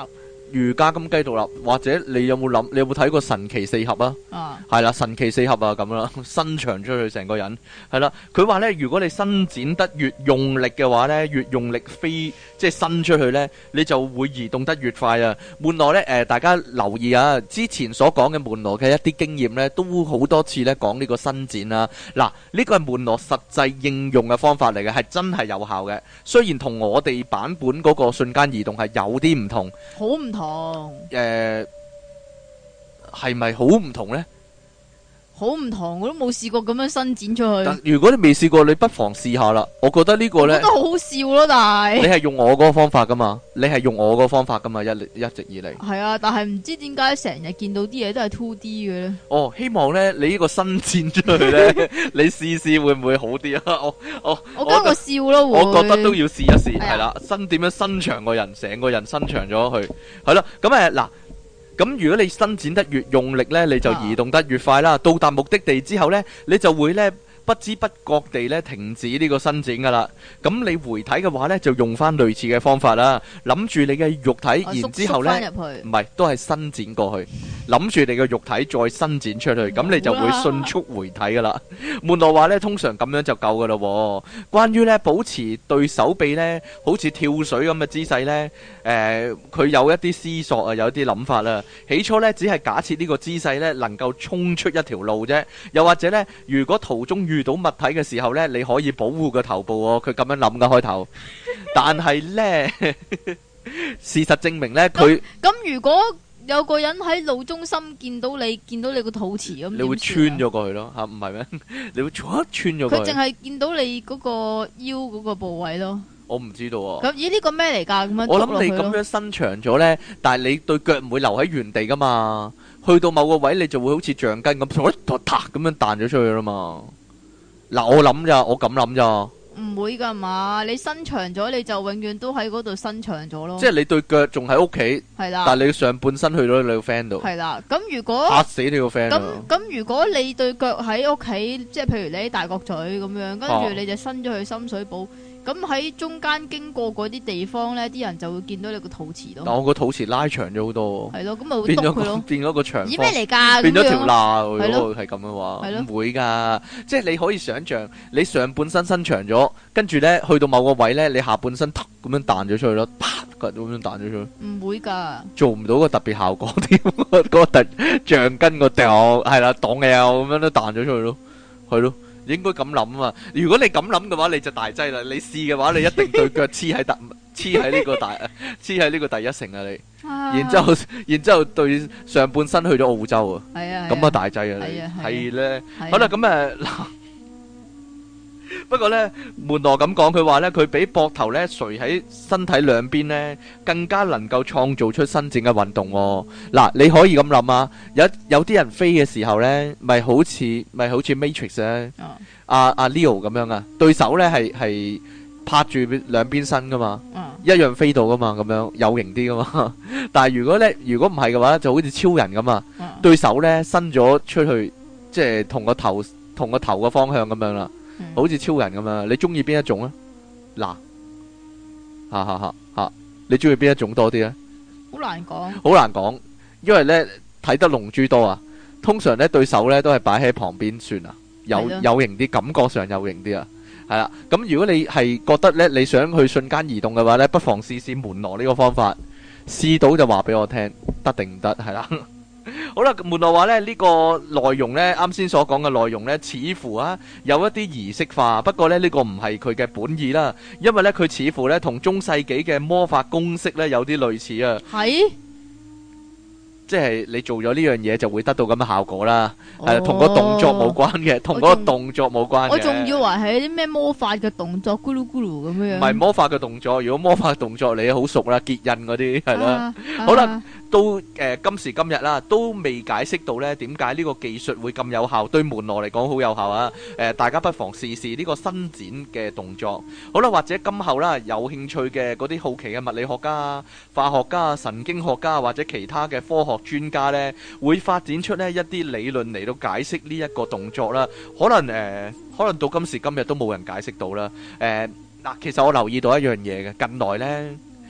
瑜伽金雞獨立，或者你有冇諗？你有冇睇過神奇四俠啊？ 啊， 係啦，神奇四俠啊，咁啦，伸長出去成個人，係啦。佢話咧，如果你伸展得越用力嘅話咧，越用力飛，即係伸出去咧，你就會移動得越快啊。門羅咧，誒、呃，大家留意啊，之前所講嘅門羅嘅一啲經驗咧，都好多次咧講呢個伸展啊。嗱，呢個係門羅實際應用嘅方法嚟嘅，係真係有效嘅。雖然同我哋版本嗰個瞬間移動係有啲唔同， 好唔同。 誒、呃，係咪好唔同呢？ 好唔同，我都冇試過咁樣伸展出去。 但如果你未試過，你不妨試下啦。我覺得呢個呢， 我覺得好好笑咯，但係你係用我嗰個方法噶嘛？你係用我嗰個方法噶嘛？一一直以嚟係啊，但係唔知點解成日見到啲嘢都係 two D 嘅咧。 哦，希望呢，你呢個伸展出去呢，你試試會唔會好啲啊？我我我驚我笑咯，會我覺得都要試一試，係啦、 啊， 伸點樣伸長個人，成個人伸長咗去，係啦。咁誒嗱。咁如果你伸展得越用力呢，你就移動得越快啦。到達目的地之後呢，你就會呢不知不覺地呢停止呢個伸展噶啦。咁你回體嘅話呢，就用翻類似嘅方法啦。諗住你嘅肉體， 啊、 然之後呢，唔係都係伸展過去。諗住你嘅肉體再伸展出去，咁你就會迅速回體噶啦。門羅話呢，通常咁樣就夠噶啦。關於呢保持對手臂呢好似跳水咁嘅姿勢呢，誒、呃，佢有一啲思索啊，有一啲諗法啦。起初呢，只係假設呢個姿勢呢能夠衝出一條路啫，又或者呢，如果途中遇到物體嘅時候呢，你可以保護個頭部喎。佢咁樣諗嘅開頭，但係呢，事實證明呢，佢咁如果有個人喺路中心見到你，見到你個肚臍咁， 你會穿咗過去咯，吓唔係咩？你會穿咗過去。 佢淨係見到你嗰個腰嗰個部位咯。 我唔知道啊。 咁咦呢個咩嚟噶？咁樣我諗你咁樣伸長咗呢，但係你對腳唔會留喺原地噶嘛。去到某個位，你就會好似橡筋咁，咁樣彈咗出去啦嘛。嗱，我諗咋，我咁諗咋。 唔會噶嘛，你伸長咗，你就永遠都喺嗰度伸長咗咯。 即係你對腳仲喺屋企， 係啦， 但係你上半身去咗你個 friend 度。 係啦，咁如果嚇死你個 friend。 咁咁如果你對腳喺屋企，即係譬如你喺大角咀咁樣，跟住你就伸咗去深水埗。咁喺中間經過嗰啲地方咧，啲人就會見到你個肚臍咯。 但我個肚臍拉長咗好多。 係咯，咁咪會篤佢咯。 變咗個長。 咦咩嚟㗎？ 變咗條罅。如果係咁嘅話， 係咯， 唔會㗎。即係你可以想像，你上半身伸長咗，跟住咧去到某個位咧，你下半身突咁樣彈咗出去咯，啪咁樣彈咗出去。 唔會㗎。做唔到個特別效果添，嗰個特橡筋個掉係啦，擋嘅咁樣都彈咗出去咯，係咯。應該咁諗啊嘛！如果你咁諗嘅話，你就大劑啦。你試嘅話，你一定對腳黐喺特黐喺呢個大黐喺呢個第一城啊！你，啊、然之後然之後對上半身去咗澳洲啊！係啊，咁啊大劑啊！你係咧，好啦，咁誒嗱。不過呢，門羅咁講，佢話呢，佢比膊頭呢垂喺身體兩邊呢，更加能夠創造出伸展嘅運動，哦。嗱，你可以咁諗啊，有有啲人飛嘅時候呢，咪好似咪好似 Matrix 咧，阿阿 Leo 咁樣啊，對手呢係係拍住兩邊身噶嘛，啊、一樣飛到噶嘛，咁樣有型啲噶嘛。但係如果呢，如果唔係嘅話，就好似超人咁啊，對手呢伸咗出去，即係同個頭同個頭嘅方向咁樣啦。好似超人咁啊！你中意邊一種啊？嗱，吓吓吓吓，你中意邊一種多啲咧？ 好難講， 好難講，因為咧睇得龍珠多啊。通常咧對手咧都係擺喺旁邊算啊，有有型啲，感覺上有型啲啊。係啦，咁如果你係覺得咧你想去瞬間移動嘅話咧，不妨試試門羅呢個方法，試到就話俾我聽，得定唔得？係啦。好啦，門羅話咧呢、這個內容呢，啱先所講嘅內容呢，似乎啊有一啲儀式化，不過呢，呢、這個唔係佢嘅本意啦，因為呢，佢似乎呢同中世紀嘅魔法公式呢有啲類似啊。係。即係你做咗呢樣嘢就會得到咁嘅效果啦，係同個動作冇關嘅，同嗰個動作冇關嘅。我仲以為係啲咩魔法嘅動作，咕嚕咕嚕咁樣。唔係魔法嘅動作，如果魔法嘅動作你好熟啦，結印嗰啲係啦。好啦，到誒今時今日啦，都未解釋到咧點解呢個技術會咁有效，對門羅嚟講好有效啊！誒，大家不妨試試呢個伸展嘅動作。好啦，或者今後啦有興趣嘅嗰啲好奇嘅物理學家、化學家、神經學家或者其他嘅科學專家呢，會發展出呢一啲理論嚟到解釋呢一個動作啦。可能誒、呃，可能到今時今日都冇人解釋到啦。誒、呃、嗱，其實我留意到一樣嘢嘅，近來呢，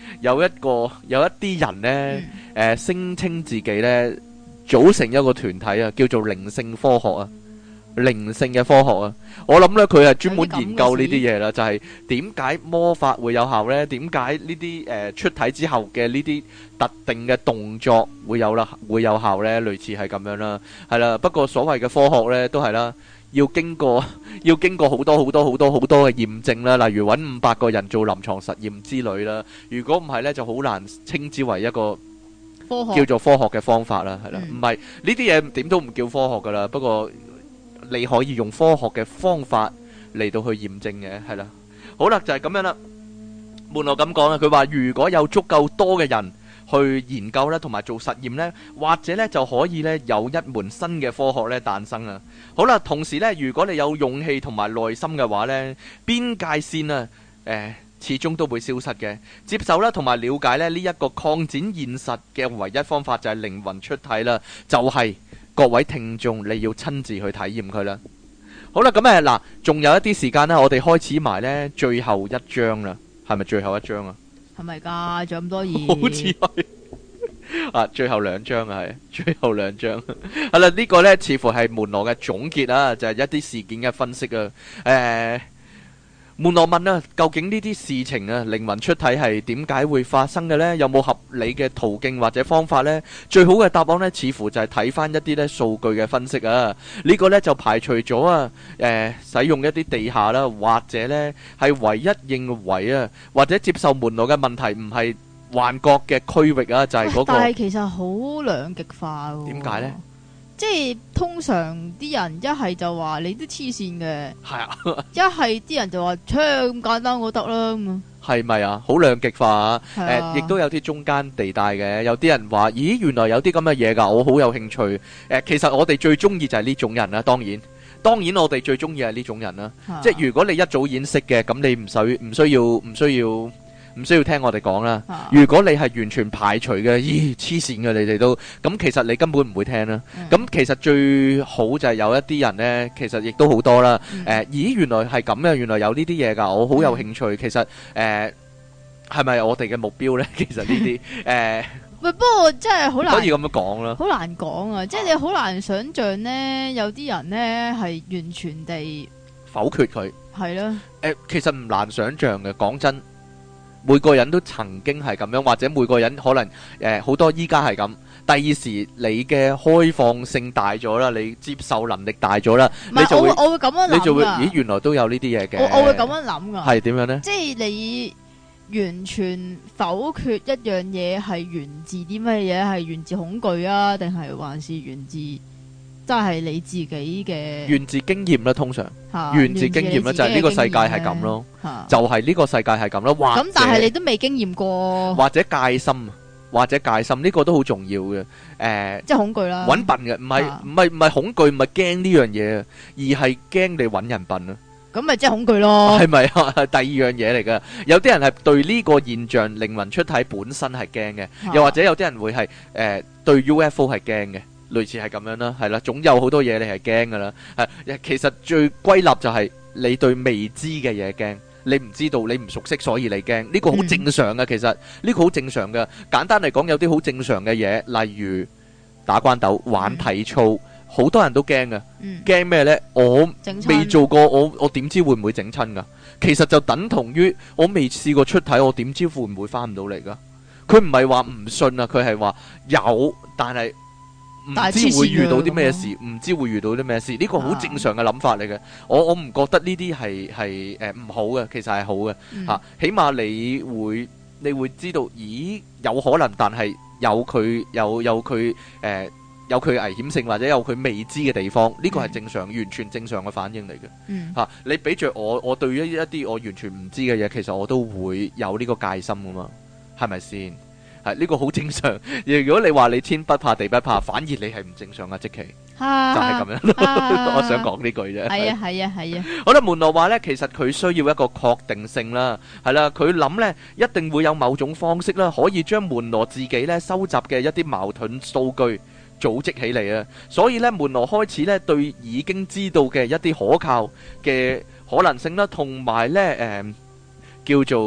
有一個有一啲人呢，誒聲稱自己呢組成一個團體啊，叫做靈性科學啊。靈性嘅科學啊，我諗咧佢係專門研究呢啲嘢啦，就係點解魔法會有效呢？點解呢啲誒出體之後嘅呢啲特定嘅動作會有啦，會有效呢？類似係咁樣啦，係啦。不過所謂嘅科學呢，都係啦，要經過要經過好多好多好多好多嘅驗證啦，例如揾五百個人做臨床實驗之類啦。如果唔係呢，就好難稱之為一個科學叫做科學嘅方法啦，係啦。唔係呢啲嘢點都唔叫科學噶啦，不過你可以用科學嘅方法嚟到去驗證嘅，係啦。好啦，就係咁樣啦。門羅咁講啦，佢話如果有足夠多嘅人去研究咧，同埋做實驗咧，或者咧就可以咧有一門新嘅科學咧誕生啊。好啦，同時咧，如果你有勇氣同埋耐心嘅話咧，邊界線啊，誒，始終都會消失嘅。接受啦，同埋了解咧呢一個擴展現實嘅唯一方法就係靈魂出體啦，就係。各位聽眾，你要親自去體驗佢啦。好啦，咁誒嗱，仲有一啲時間呢，我哋開始埋呢最後一章啦，係咪最後一章啊？係咪㗎？仲有咁多嘢？好似係啊，最後兩章啊，係最後兩章。係啦，呢個呢似乎係門羅嘅總結啊，就係一啲事件嘅分析啊，誒。門羅問啊，究竟呢啲事情啊，靈魂出體係點解會發生嘅呢？有冇合理嘅途徑或者方法呢？最好嘅答案呢，似乎就係睇翻一啲呢數據嘅分析啊。呢個呢就排除咗啊，誒，使用一啲地下啦，或者呢係唯一認為啊，或者接受門羅嘅問題唔係幻覺嘅區域啊，就係嗰個。但係其實好兩極化喎。點解呢？即係通常啲人一係就話你都黐線嘅，係啊，一係啲人就話，切咁簡單我得啦咁啊，係咪啊？好兩極化啊！誒，亦都有啲中間地帶嘅，有啲人話，咦，原來有啲咁嘅嘢㗎，我好有興趣。誒，其實我哋最中意就係呢種人啦，當然，當然我哋最中意係呢種人啦。即係如果你一早已經識嘅，咁你唔使唔需要唔需要。唔需要聽我哋講啦。啊、如果你係完全排除嘅，咦黐線嘅你哋都，咁其實你根本唔會聽啦。咁、嗯、其實最好就係有一啲人呢，其實亦都好多啦。誒、嗯呃，咦原來係咁嘅，原來有呢啲嘢㗎，我好有興趣。嗯、其實誒係咪我哋嘅目標呢？其實呢啲誒，喂，不過真係好難可以咁樣講啦，好難講啊！即係你好難想像呢，有啲人呢係完全地否決佢，係啦。誒、呃，其實唔難想像嘅，講真。每個人都曾經係咁樣，或者每個人可能誒好、呃、多依家係咁。第二時你嘅開放性大咗啦，你接受能力大咗啦，是你就會我會我會咁樣諗，你就會咦原來都有呢啲嘢嘅。我我會咁樣諗噶。係點樣呢？即係你完全否決一樣嘢係源自啲乜嘢？係源自恐懼啊，定係還是源自？即係你自己嘅源自經驗啦，通常源自經驗啦，就係呢個世界係咁咯，就係呢個世界係咁咯。咁但係你都未經驗過，或者戒心，或者戒心呢個都好重要嘅。誒，即係恐懼啦，揾笨嘅，唔係唔係唔係恐懼，唔係驚呢樣嘢，而係驚你揾人笨啊。咁咪即係恐懼咯，係咪啊？第二樣嘢嚟噶。有啲人係對呢個現象靈魂出體本身係驚嘅，又或者有啲人會係誒對 U F O 係驚嘅。類似係咁樣啦，係啦，總有好多嘢你係驚噶啦，係，其實最歸納就係你對未知嘅嘢驚，你唔知道，你唔熟悉，所以你驚，呢個好正常嘅，其實呢個好正常嘅。簡單嚟講，有啲好正常嘅嘢，例如打關鬥、玩體操，好多人都驚嘅，驚咩呢？我未做過，我我點知會唔會整親噶？其實就等同於我未試過出體，我點知會唔會翻唔到嚟噶？佢唔係話唔信啊，佢係話有，但係。唔知會遇到啲咩事，唔知會遇到啲咩事，呢個好正常嘅諗法嚟嘅。我我唔覺得呢啲係係誒唔好嘅，其實係好嘅嚇。起碼你會你會知道，咦有可能，但係有佢有有佢誒有佢危險性，或者有佢未知嘅地方，呢個係正常，完全正常嘅反應嚟嘅嚇。你俾著我，我對於一啲我完全唔知嘅嘢，其實我都會有呢個戒心噶嘛，係咪先？係呢個好正常。如果你話你天不怕地不怕，反而你係唔正常啊！即其就係咁樣。我想講呢句啫。係啊係啊係啊。好啦，門羅話呢，其實佢需要一個確定性啦，係啦，佢諗呢一定會有某種方式啦，可以將門羅自己呢收集嘅一啲矛盾數據組織起嚟啊。所以呢，門羅開始呢對已經知道嘅一啲可靠嘅可能性啦，同埋呢誒叫做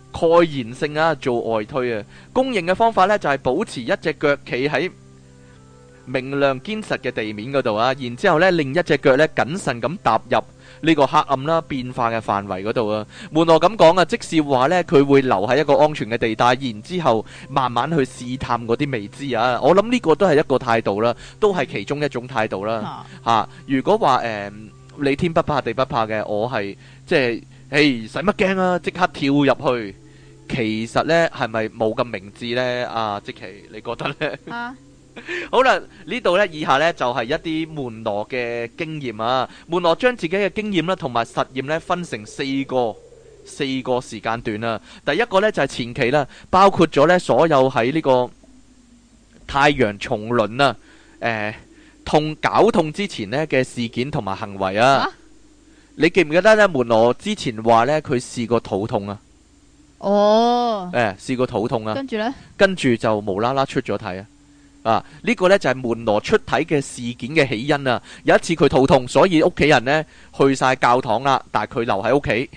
蓋然性啊，做外推啊。公認嘅方法呢，就係、是、保持一隻腳企喺明亮堅實嘅地面嗰度啊，然之後呢另一隻腳呢謹慎咁踏入呢個黑暗啦變化嘅範圍嗰度啊。門羅咁講啊，即是話呢，佢會留喺一個安全嘅地帶，然之後慢慢去試探嗰啲未知啊。我諗呢個都係一個態度啦，都係其中一種態度啦。吓、啊，如果話誒、呃、你天不怕地不怕嘅，我係即係，誒使乜驚啊？即刻跳入去，其實呢係咪冇咁明智呢？啊，即其你覺得呢？啊好啦，呢度呢，以下呢就係一啲門羅嘅經驗啊。門羅將自己嘅經驗啦，同埋實驗呢分成四個四個時間段啊。第一個呢就係前期啦，包括咗呢所有喺呢個太陽重輪啊，誒痛絞痛之前呢嘅事件同埋行為啊。啊你記唔記得呢？門羅之前話呢，佢試過肚痛啊。哦，誒試過肚痛啊。跟住呢，跟住就無啦啦出咗體啊。啊！呢、這個呢就係、是、門羅出體嘅事件嘅起因啊！有一次佢肚痛，所以屋企人呢去晒教堂啦，但係佢留喺屋企。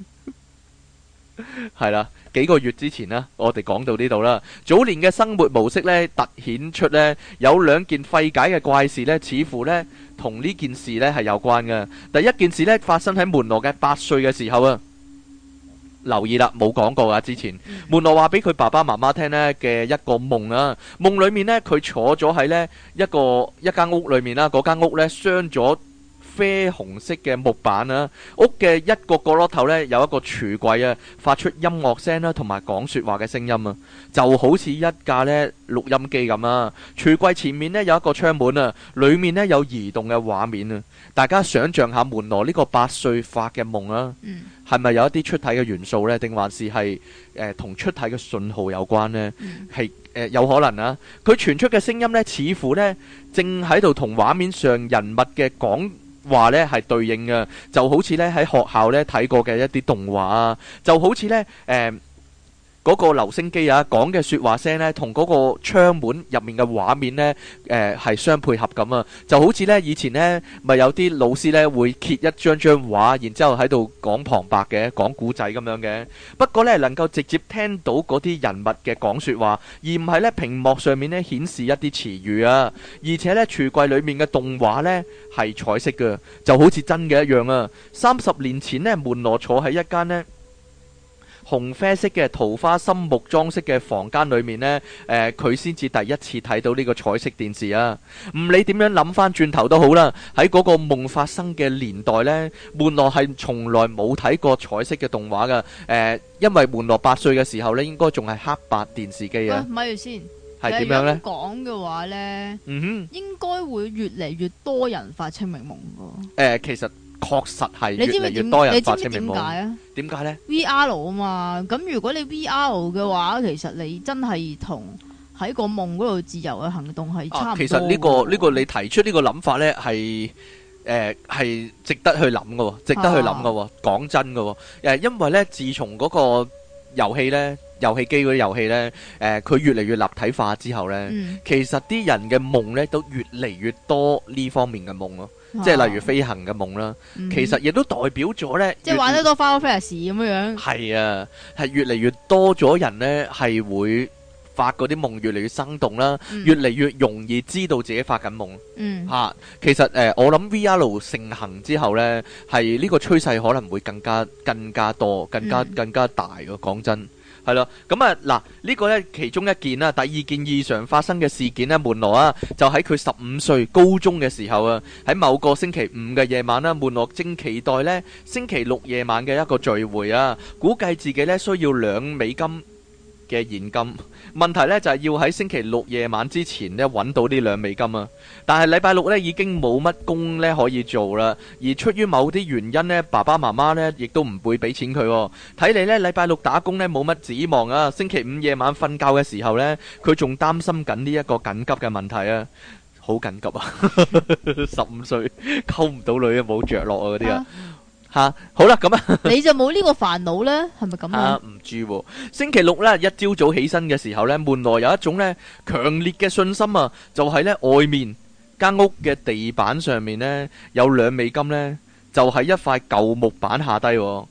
係啦，幾個月之前啦，我哋講到呢度啦。早年嘅生活模式呢，突顯出呢有兩件費解嘅怪事呢，似乎呢同呢件事呢係有關嘅。第一件事呢，發生喺門羅嘅八歲嘅時候啊。留意啦，冇講過啊！之前門羅話俾佢爸爸媽媽聽呢嘅一個夢啊，夢裏面呢，佢坐咗喺呢一個一間屋裏面啦，嗰間屋呢，鑲咗啡紅色嘅木板啊，屋嘅一個角落頭呢，有一個櫥櫃啊，發出音樂聲啦，同埋講說話嘅聲音啊，就好似一架呢錄音機咁啊。櫥櫃前面呢，有一個窗門啊，裏面呢，有移動嘅畫面啊。大家想象下門羅呢個八歲發嘅夢啊，係咪、嗯、有一啲出體嘅元素呢？定還是係誒同出體嘅信號有關呢？係誒、嗯呃、有可能啊。佢傳出嘅聲音呢，似乎呢正喺度同畫面上人物嘅講話呢係對應嘅，就好似呢喺學校呢睇過嘅一啲動畫啊，就好似呢誒。呃嗰個留聲機啊，講嘅説話聲呢，同嗰個窗門入面嘅畫面呢，誒係相配合咁啊！就好似呢以前呢，咪有啲老師呢會揭一張張畫，然之後喺度講旁白嘅，講古仔咁樣嘅。不過呢，能夠直接聽到嗰啲人物嘅講説話，而唔係呢屏幕上面呢顯示一啲詞語啊。而且呢，櫥櫃裡面嘅動畫呢係彩色嘅，就好似真嘅一樣啊！三十年前呢，門羅坐喺一間呢紅啡色嘅桃花心木裝飾嘅房間裏面呢，誒佢先至第一次睇到呢個彩色電視啊！唔理點樣諗翻轉頭都好啦，喺嗰個夢發生嘅年代呢，門羅係從來冇睇過彩色嘅動畫噶。誒、呃，因為門羅八歲嘅時候呢，應該仲係黑白電視機啊。咪住先，係點樣呢？講嘅話呢，嗯哼，應該會越嚟越多人發清明夢噶。誒、呃，其實。確實係越嚟越多人發清明夢。你知唔知點解啊？點解呢 ？V R 啊嘛，咁如果你 V R 嘅話，其實你真係同喺個夢嗰度自由嘅行動係差唔多。其實呢、呢個呢、呢個你提出呢個諗法呢，係誒係值得去諗嘅，值得去諗嘅。講、啊、真嘅，誒因為呢，自從嗰個遊戲呢。遊戲機嗰啲遊戲呢，誒、呃、佢越嚟越立體化之後呢，嗯、其實啲人嘅夢呢都越嚟越多呢方面嘅夢咯，啊、即係例如飛行嘅夢啦，嗯、其實亦都代表咗呢，即係玩得多 Final Fantasy咁樣樣。係啊，係越嚟越多咗人呢係會發嗰啲夢越嚟越生動啦，嗯、越嚟越容易知道自己發緊夢。嗯，嚇、啊，其實誒、呃，我諗 V R 盛行之後呢，係呢個趨勢可能會更加更加多、更加更加大嘅。講真。係咯，咁啊嗱，呢個呢其中一件啦，第二件異常發生嘅事件呢，門羅啊，就喺佢十五歲高中嘅時候啊，喺某個星期五嘅夜晚啦，門羅正期待呢星期六夜晚嘅一個聚會啊，估計自己呢需要兩美金嘅現金，問題呢就係要喺星期六夜晚之前呢揾到呢兩美金啊！但係禮拜六呢已經冇乜工呢可以做啦，而出於某啲原因呢，爸爸媽媽呢亦都唔會俾錢佢。睇嚟呢禮拜六打工呢冇乜指望啊！星期五夜晚瞓覺嘅時候呢，佢仲擔心緊呢一個緊急嘅問題啊！好緊急啊！十五歲溝唔到女啊，冇着落啊嗰啲啊！吓，好啦，咁啊，你就冇呢個煩惱咧，係咪咁啊？唔知喎。星期六咧，一朝早起身嘅時候咧，門羅有一種咧強烈嘅信心啊，就係咧外面間屋嘅地板上面咧有兩美金咧，就喺一塊舊木板下低。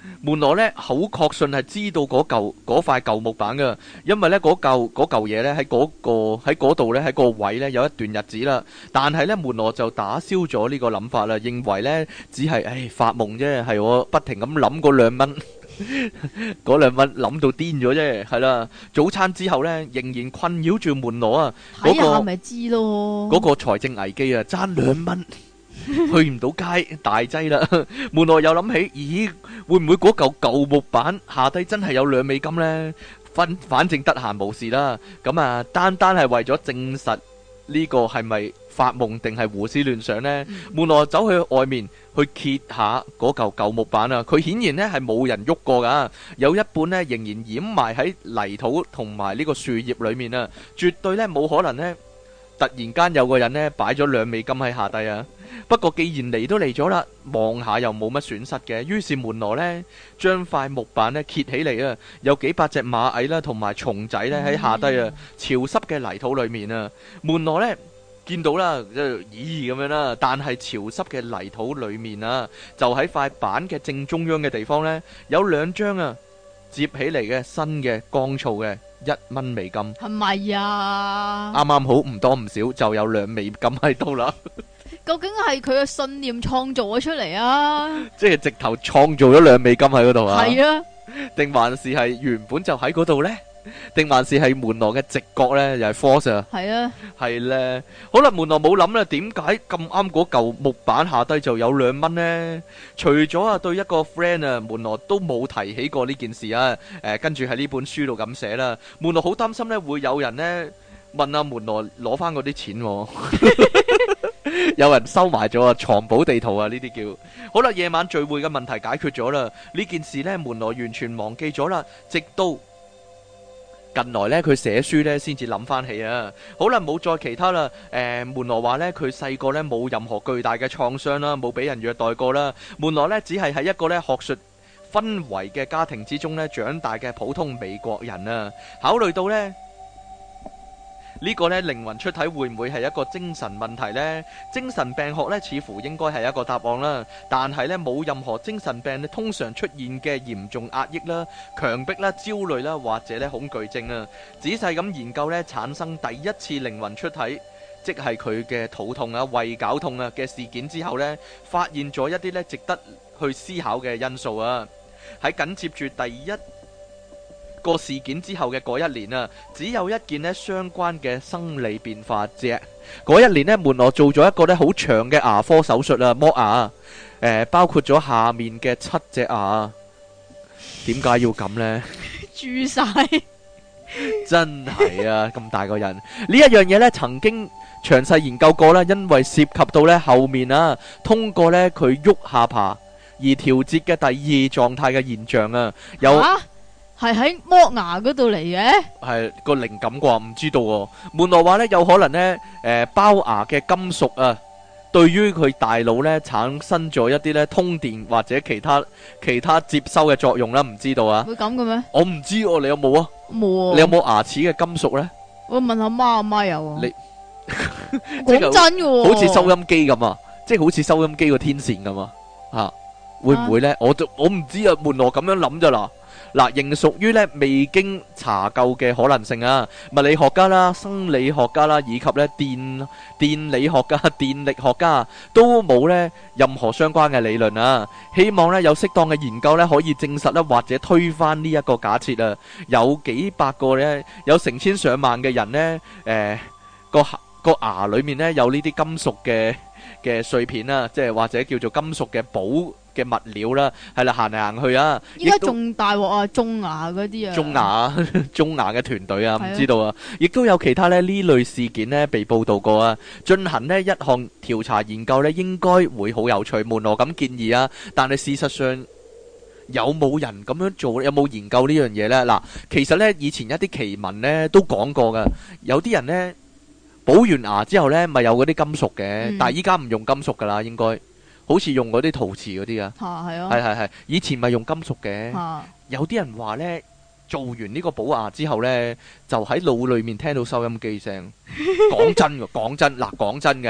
門羅咧好確信係知道嗰嚿嗰塊舊木板噶，因為咧嗰嚿嗰嚿嘢咧喺嗰個喺嗰度咧喺個位咧有一段日子啦。但係咧門羅就打消咗呢個諗法啦，認為咧只係誒發夢啫，係我不停咁諗嗰兩蚊，嗰兩蚊諗到癲咗啫，係啦。早餐之後咧仍然困擾住門羅啊， 睇下咪知咯。 嗰個財政危機啊，爭兩蚊。去唔到街，大劑啦！門羅又諗起，咦，會唔會嗰嚿舊木板下低真係有兩美金呢？反反正得閒無事啦，咁啊，單單係為咗證實呢個係咪發夢定係胡思亂想呢？嗯、門羅走去外面去揭下嗰嚿舊木板啊，佢顯然呢係冇人喐過噶，有一半呢仍然掩埋喺泥土同埋呢個樹葉裏面啊，絕對呢冇可能呢突然間有個人呢擺咗兩美金喺下低啊！不過既然嚟都嚟咗啦，望下又冇乜損失嘅，於是門羅呢將塊木板呢揭起嚟啊，有幾百隻螞蟻啦同埋蟲仔呢喺下低啊，潮濕嘅泥土裏面啊，門羅呢見到啦，咦咁樣啦，但係潮濕嘅泥土裏面啊，就喺塊板嘅正中央嘅地方呢，有兩張啊接起嚟嘅新嘅乾燥嘅一蚊美金， 係咪啊？ 啱啱好唔多唔少就有兩美金喺度啦。 究竟係佢嘅信念創造咗出嚟啊？ 即係直頭創造咗兩美金喺嗰度啊？係啊，定還是係原本就喺嗰度呢？定還是係門羅嘅直覺呢？又係 force 啊？係啊，係咧。好啦，門羅冇諗啦，點解咁啱嗰嚿木板下低就有兩蚊呢？除咗啊對一個 friend 啊，門羅都冇提起過呢件事啊。誒，跟住喺呢本書度咁寫啦。門羅好擔心呢，會有人呢問阿門羅攞翻嗰啲錢喎。有人收埋咗啊，藏寶地圖啊，呢啲叫。好啦，夜晚聚會嘅問題解決咗啦，呢件事呢，門羅完全忘記咗啦，直到近來呢，佢寫書呢先至諗翻起啊。好啦，冇再其他啦。誒、呃，門羅話呢，佢細個呢冇任何巨大嘅創傷啦，冇俾人虐待過啦。門羅呢，只係喺一個呢學術氛圍嘅家庭之中呢長大嘅普通美國人啊。考慮到呢。呢個呢靈魂出體會唔會係一個精神問題呢？精神病學呢似乎應該係一個答案啦，但係呢冇任何精神病呢通常出現嘅嚴重壓抑啦、強迫啦、焦慮啦或者呢恐懼症啊。仔細咁研究呢產生第一次靈魂出體，即係佢嘅肚痛啊、胃絞痛啊嘅事件之後呢，發現咗一啲呢值得去思考嘅因素啊。喺緊接住第一個事件之後嘅嗰一年啊，只有一件呢相關嘅生理變化啫。嗰一年呢，門羅做咗一個呢好長嘅牙科手術啊，剝牙，誒，包括咗下面嘅七隻牙。點解要咁呢？ 蛀晒， 真係啊！咁大個人呢一樣嘢呢，曾經詳細研究過啦，因為涉及到呢後面啊，通過呢佢喐下巴而調節嘅第二狀態嘅現象啊，有。啊係喺剝牙嗰度嚟嘅， 係個靈感啩，唔知道喎。門羅話呢，有可能呢，誒，包牙嘅金屬啊，對於佢大腦呢產生咗一啲呢通電或者其他其他接收嘅作用啦，唔知道啊。會咁嘅咩？我唔知哦，你有冇啊？冇啊。你有冇牙齒嘅金屬呢？我問下媽，阿媽有啊。你講真嘅，好似收音機咁啊，即係好似收音機個天線咁啊，吓會唔會呢？我就我唔知啊，門羅咁樣諗咋啦。嗱，仍屬於咧未經查究嘅可能性啊！物理學家啦、生理學家啦，以及咧電電理學家、電力學家都冇咧任何相關嘅理論啊！希望咧有適當嘅研究咧可以證實咧或者推翻呢一個假設啊！有幾百個咧，有成千上萬嘅人咧，誒個個牙裏面咧有呢啲金屬嘅嘅碎片啊，即係或者叫做金屬嘅寶嘅物料啦，係啦，行嚟行去啊！依家仲大鑊啊，種牙嗰啲啊，種牙種牙嘅團隊啊，唔知道啊，亦都有其他咧呢類事件咧被報道過啊。進行呢一項調查研究咧，應該會好有趣。門羅咁建議啊，但係事實上有冇人咁樣做？有冇研究呢樣嘢咧？嗱，其實咧以前一啲奇聞咧都講過噶，有啲人咧補完牙之後咧，咪有嗰啲金屬嘅，但係依家唔用金屬噶啦，應該。好似用嗰啲陶瓷嗰啲啊，係啊，係係係，以前咪用金屬嘅，啊、有啲人話呢，做完呢個補牙之後呢，就喺腦裏面聽到收音機聲。講真嘅，講真嗱，講真嘅，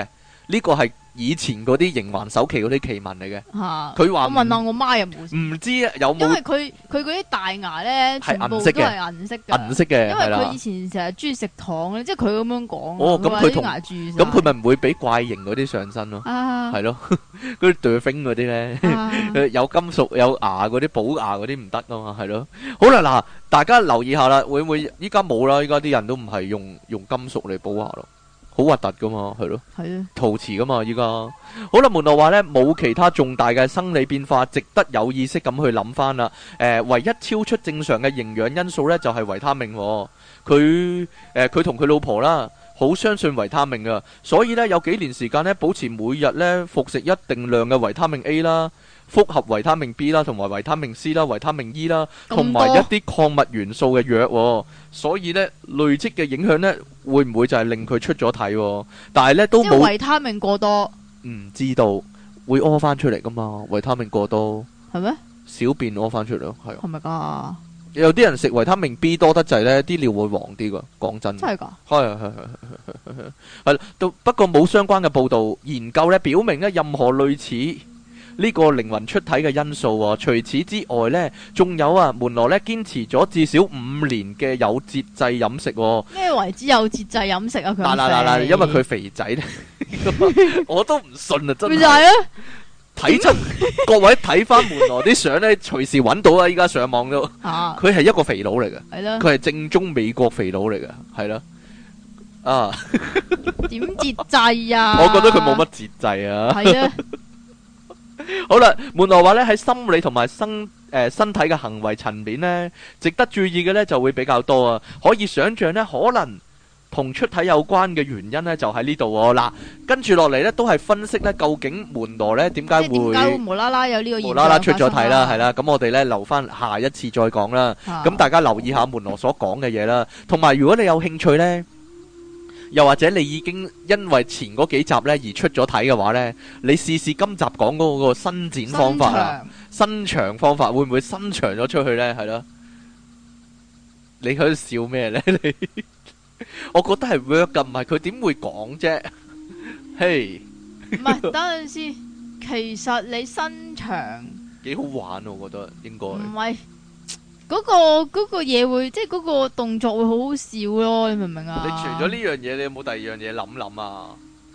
呢個係以前嗰啲營還首期嗰啲奇聞嚟嘅。 嚇， 佢話我問下我媽有冇？ 唔知啊，有因為冇佢佢嗰啲大牙咧，全部都係銀色嘅係銀色嘅。 銀色嘅？ 因為係啦佢以前成日中意食糖咧，即係佢咁樣講。 哦咁佢同話啲牙蛀晒咁佢咪唔會俾怪形嗰啲上身咯？ 啊係咯，嗰啲 dolphin 嗰啲咧， 啊有金屬有牙嗰啲補牙嗰啲唔得啊嘛，係咯。好啦，嗱，大家留意下啦，會唔會依家冇啦？依家啲人都唔係用用金屬嚟補牙咯。好核突噶嘛，係咯， 係啊， 陶瓷噶嘛，依家好啦。門羅話呢，冇其他重大嘅生理變化，值得有意識咁去諗翻啦。誒、呃，唯一超出正常嘅營養因素呢，就係、是、維他命、哦。佢誒，佢同佢老婆啦，好相信維他命噶，所以呢，有幾年時間呢，保持每日呢服食一定量嘅維他命 A 啦。複合維他命 B 啦，同埋維他命 C 啦，維他命 E 啦，同埋一啲礦物元素嘅藥、哦，所以呢，累積嘅影響呢，會唔會就係令佢出咗體、哦？但係呢，都冇維他命過多， 唔知道會屙翻出嚟噶嘛？維他命過多係咩？小便屙翻出嚟咯，係係咪噶？ 有啲人食維他命 B 多得滯呢，啲尿會黃啲噶。講真， 真係噶？ 係係係係係係。不過冇相關嘅報道研究呢，表明呢，任何類似呢個靈魂出體嘅因素喎。除此之外呢，仲有啊，門羅呢堅持咗至少五年嘅有節制飲食喎。 咩為之有節制飲食啊？佢嗱嗱嗱嗱，因為佢肥仔咧，我都唔信啊！真係。 咪就係啊！ 睇出各位睇翻門羅啲相咧，隨時揾到啊！依家上網都， 啊， 佢係一個肥佬嚟嘅， 係啦， 佢係正宗美國肥佬嚟嘅，係啦，啊， 點節制啊？ 我覺得佢冇乜節制啊。 係啊。 好啦，門羅話咧喺心理同埋身誒身體嘅行為層面咧，值得注意嘅咧就會比較多啊。可以想象咧，可能同出體有關嘅原因咧就喺呢度喎。嗱，跟住落嚟咧都係分析咧，究竟門羅咧點解會點解會無啦啦有呢個現象無啦啦出咗體啦？係啦，咁我哋咧留翻下一次再講啦。咁大家留意下門羅所講嘅嘢啦，同埋如果你有興趣咧。又或者你已經因為前嗰幾集呢而出咗體嘅話呢，你試試今集講嗰個伸展方法啊，伸長方法會唔會伸長咗出去呢？係咯，你喺度笑咩呢？你我覺得係 work 噶，唔係佢點會講啫？嘿，唔係等陣先，其實你伸長幾好玩，我覺得應該唔係。嗰、那個嗰、那個嘢會，即係嗰個動作會好好笑咯，你明唔明啊？ 你除咗呢樣嘢，你有冇第二樣嘢諗諗啊？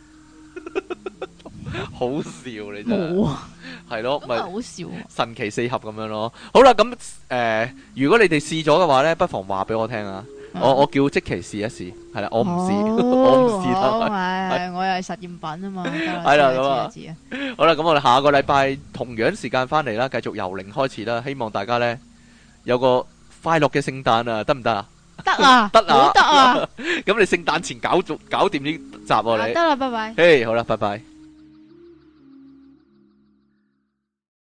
好笑你真係，冇啊，係咯，咪好笑、啊， 神奇四俠咁樣咯。好啦，咁誒、呃，如果你哋試咗嘅話咧，不妨話俾我聽啊。嗯、我我叫積奇試一試，係啦，我唔試，哦、我唔試得。 係，我又係實驗品啊嘛。 係啦，咁啊，好啦，咁我哋下個禮拜同樣時間翻嚟啦，繼續由零開始啦。希望大家咧。有個快樂嘅聖誕啊，得唔得啊？ 得啊， 得啊， 得啊！ 咁你聖誕前搞做搞掂呢集喎，你得啦，拜拜。 嘿，好啦，拜拜。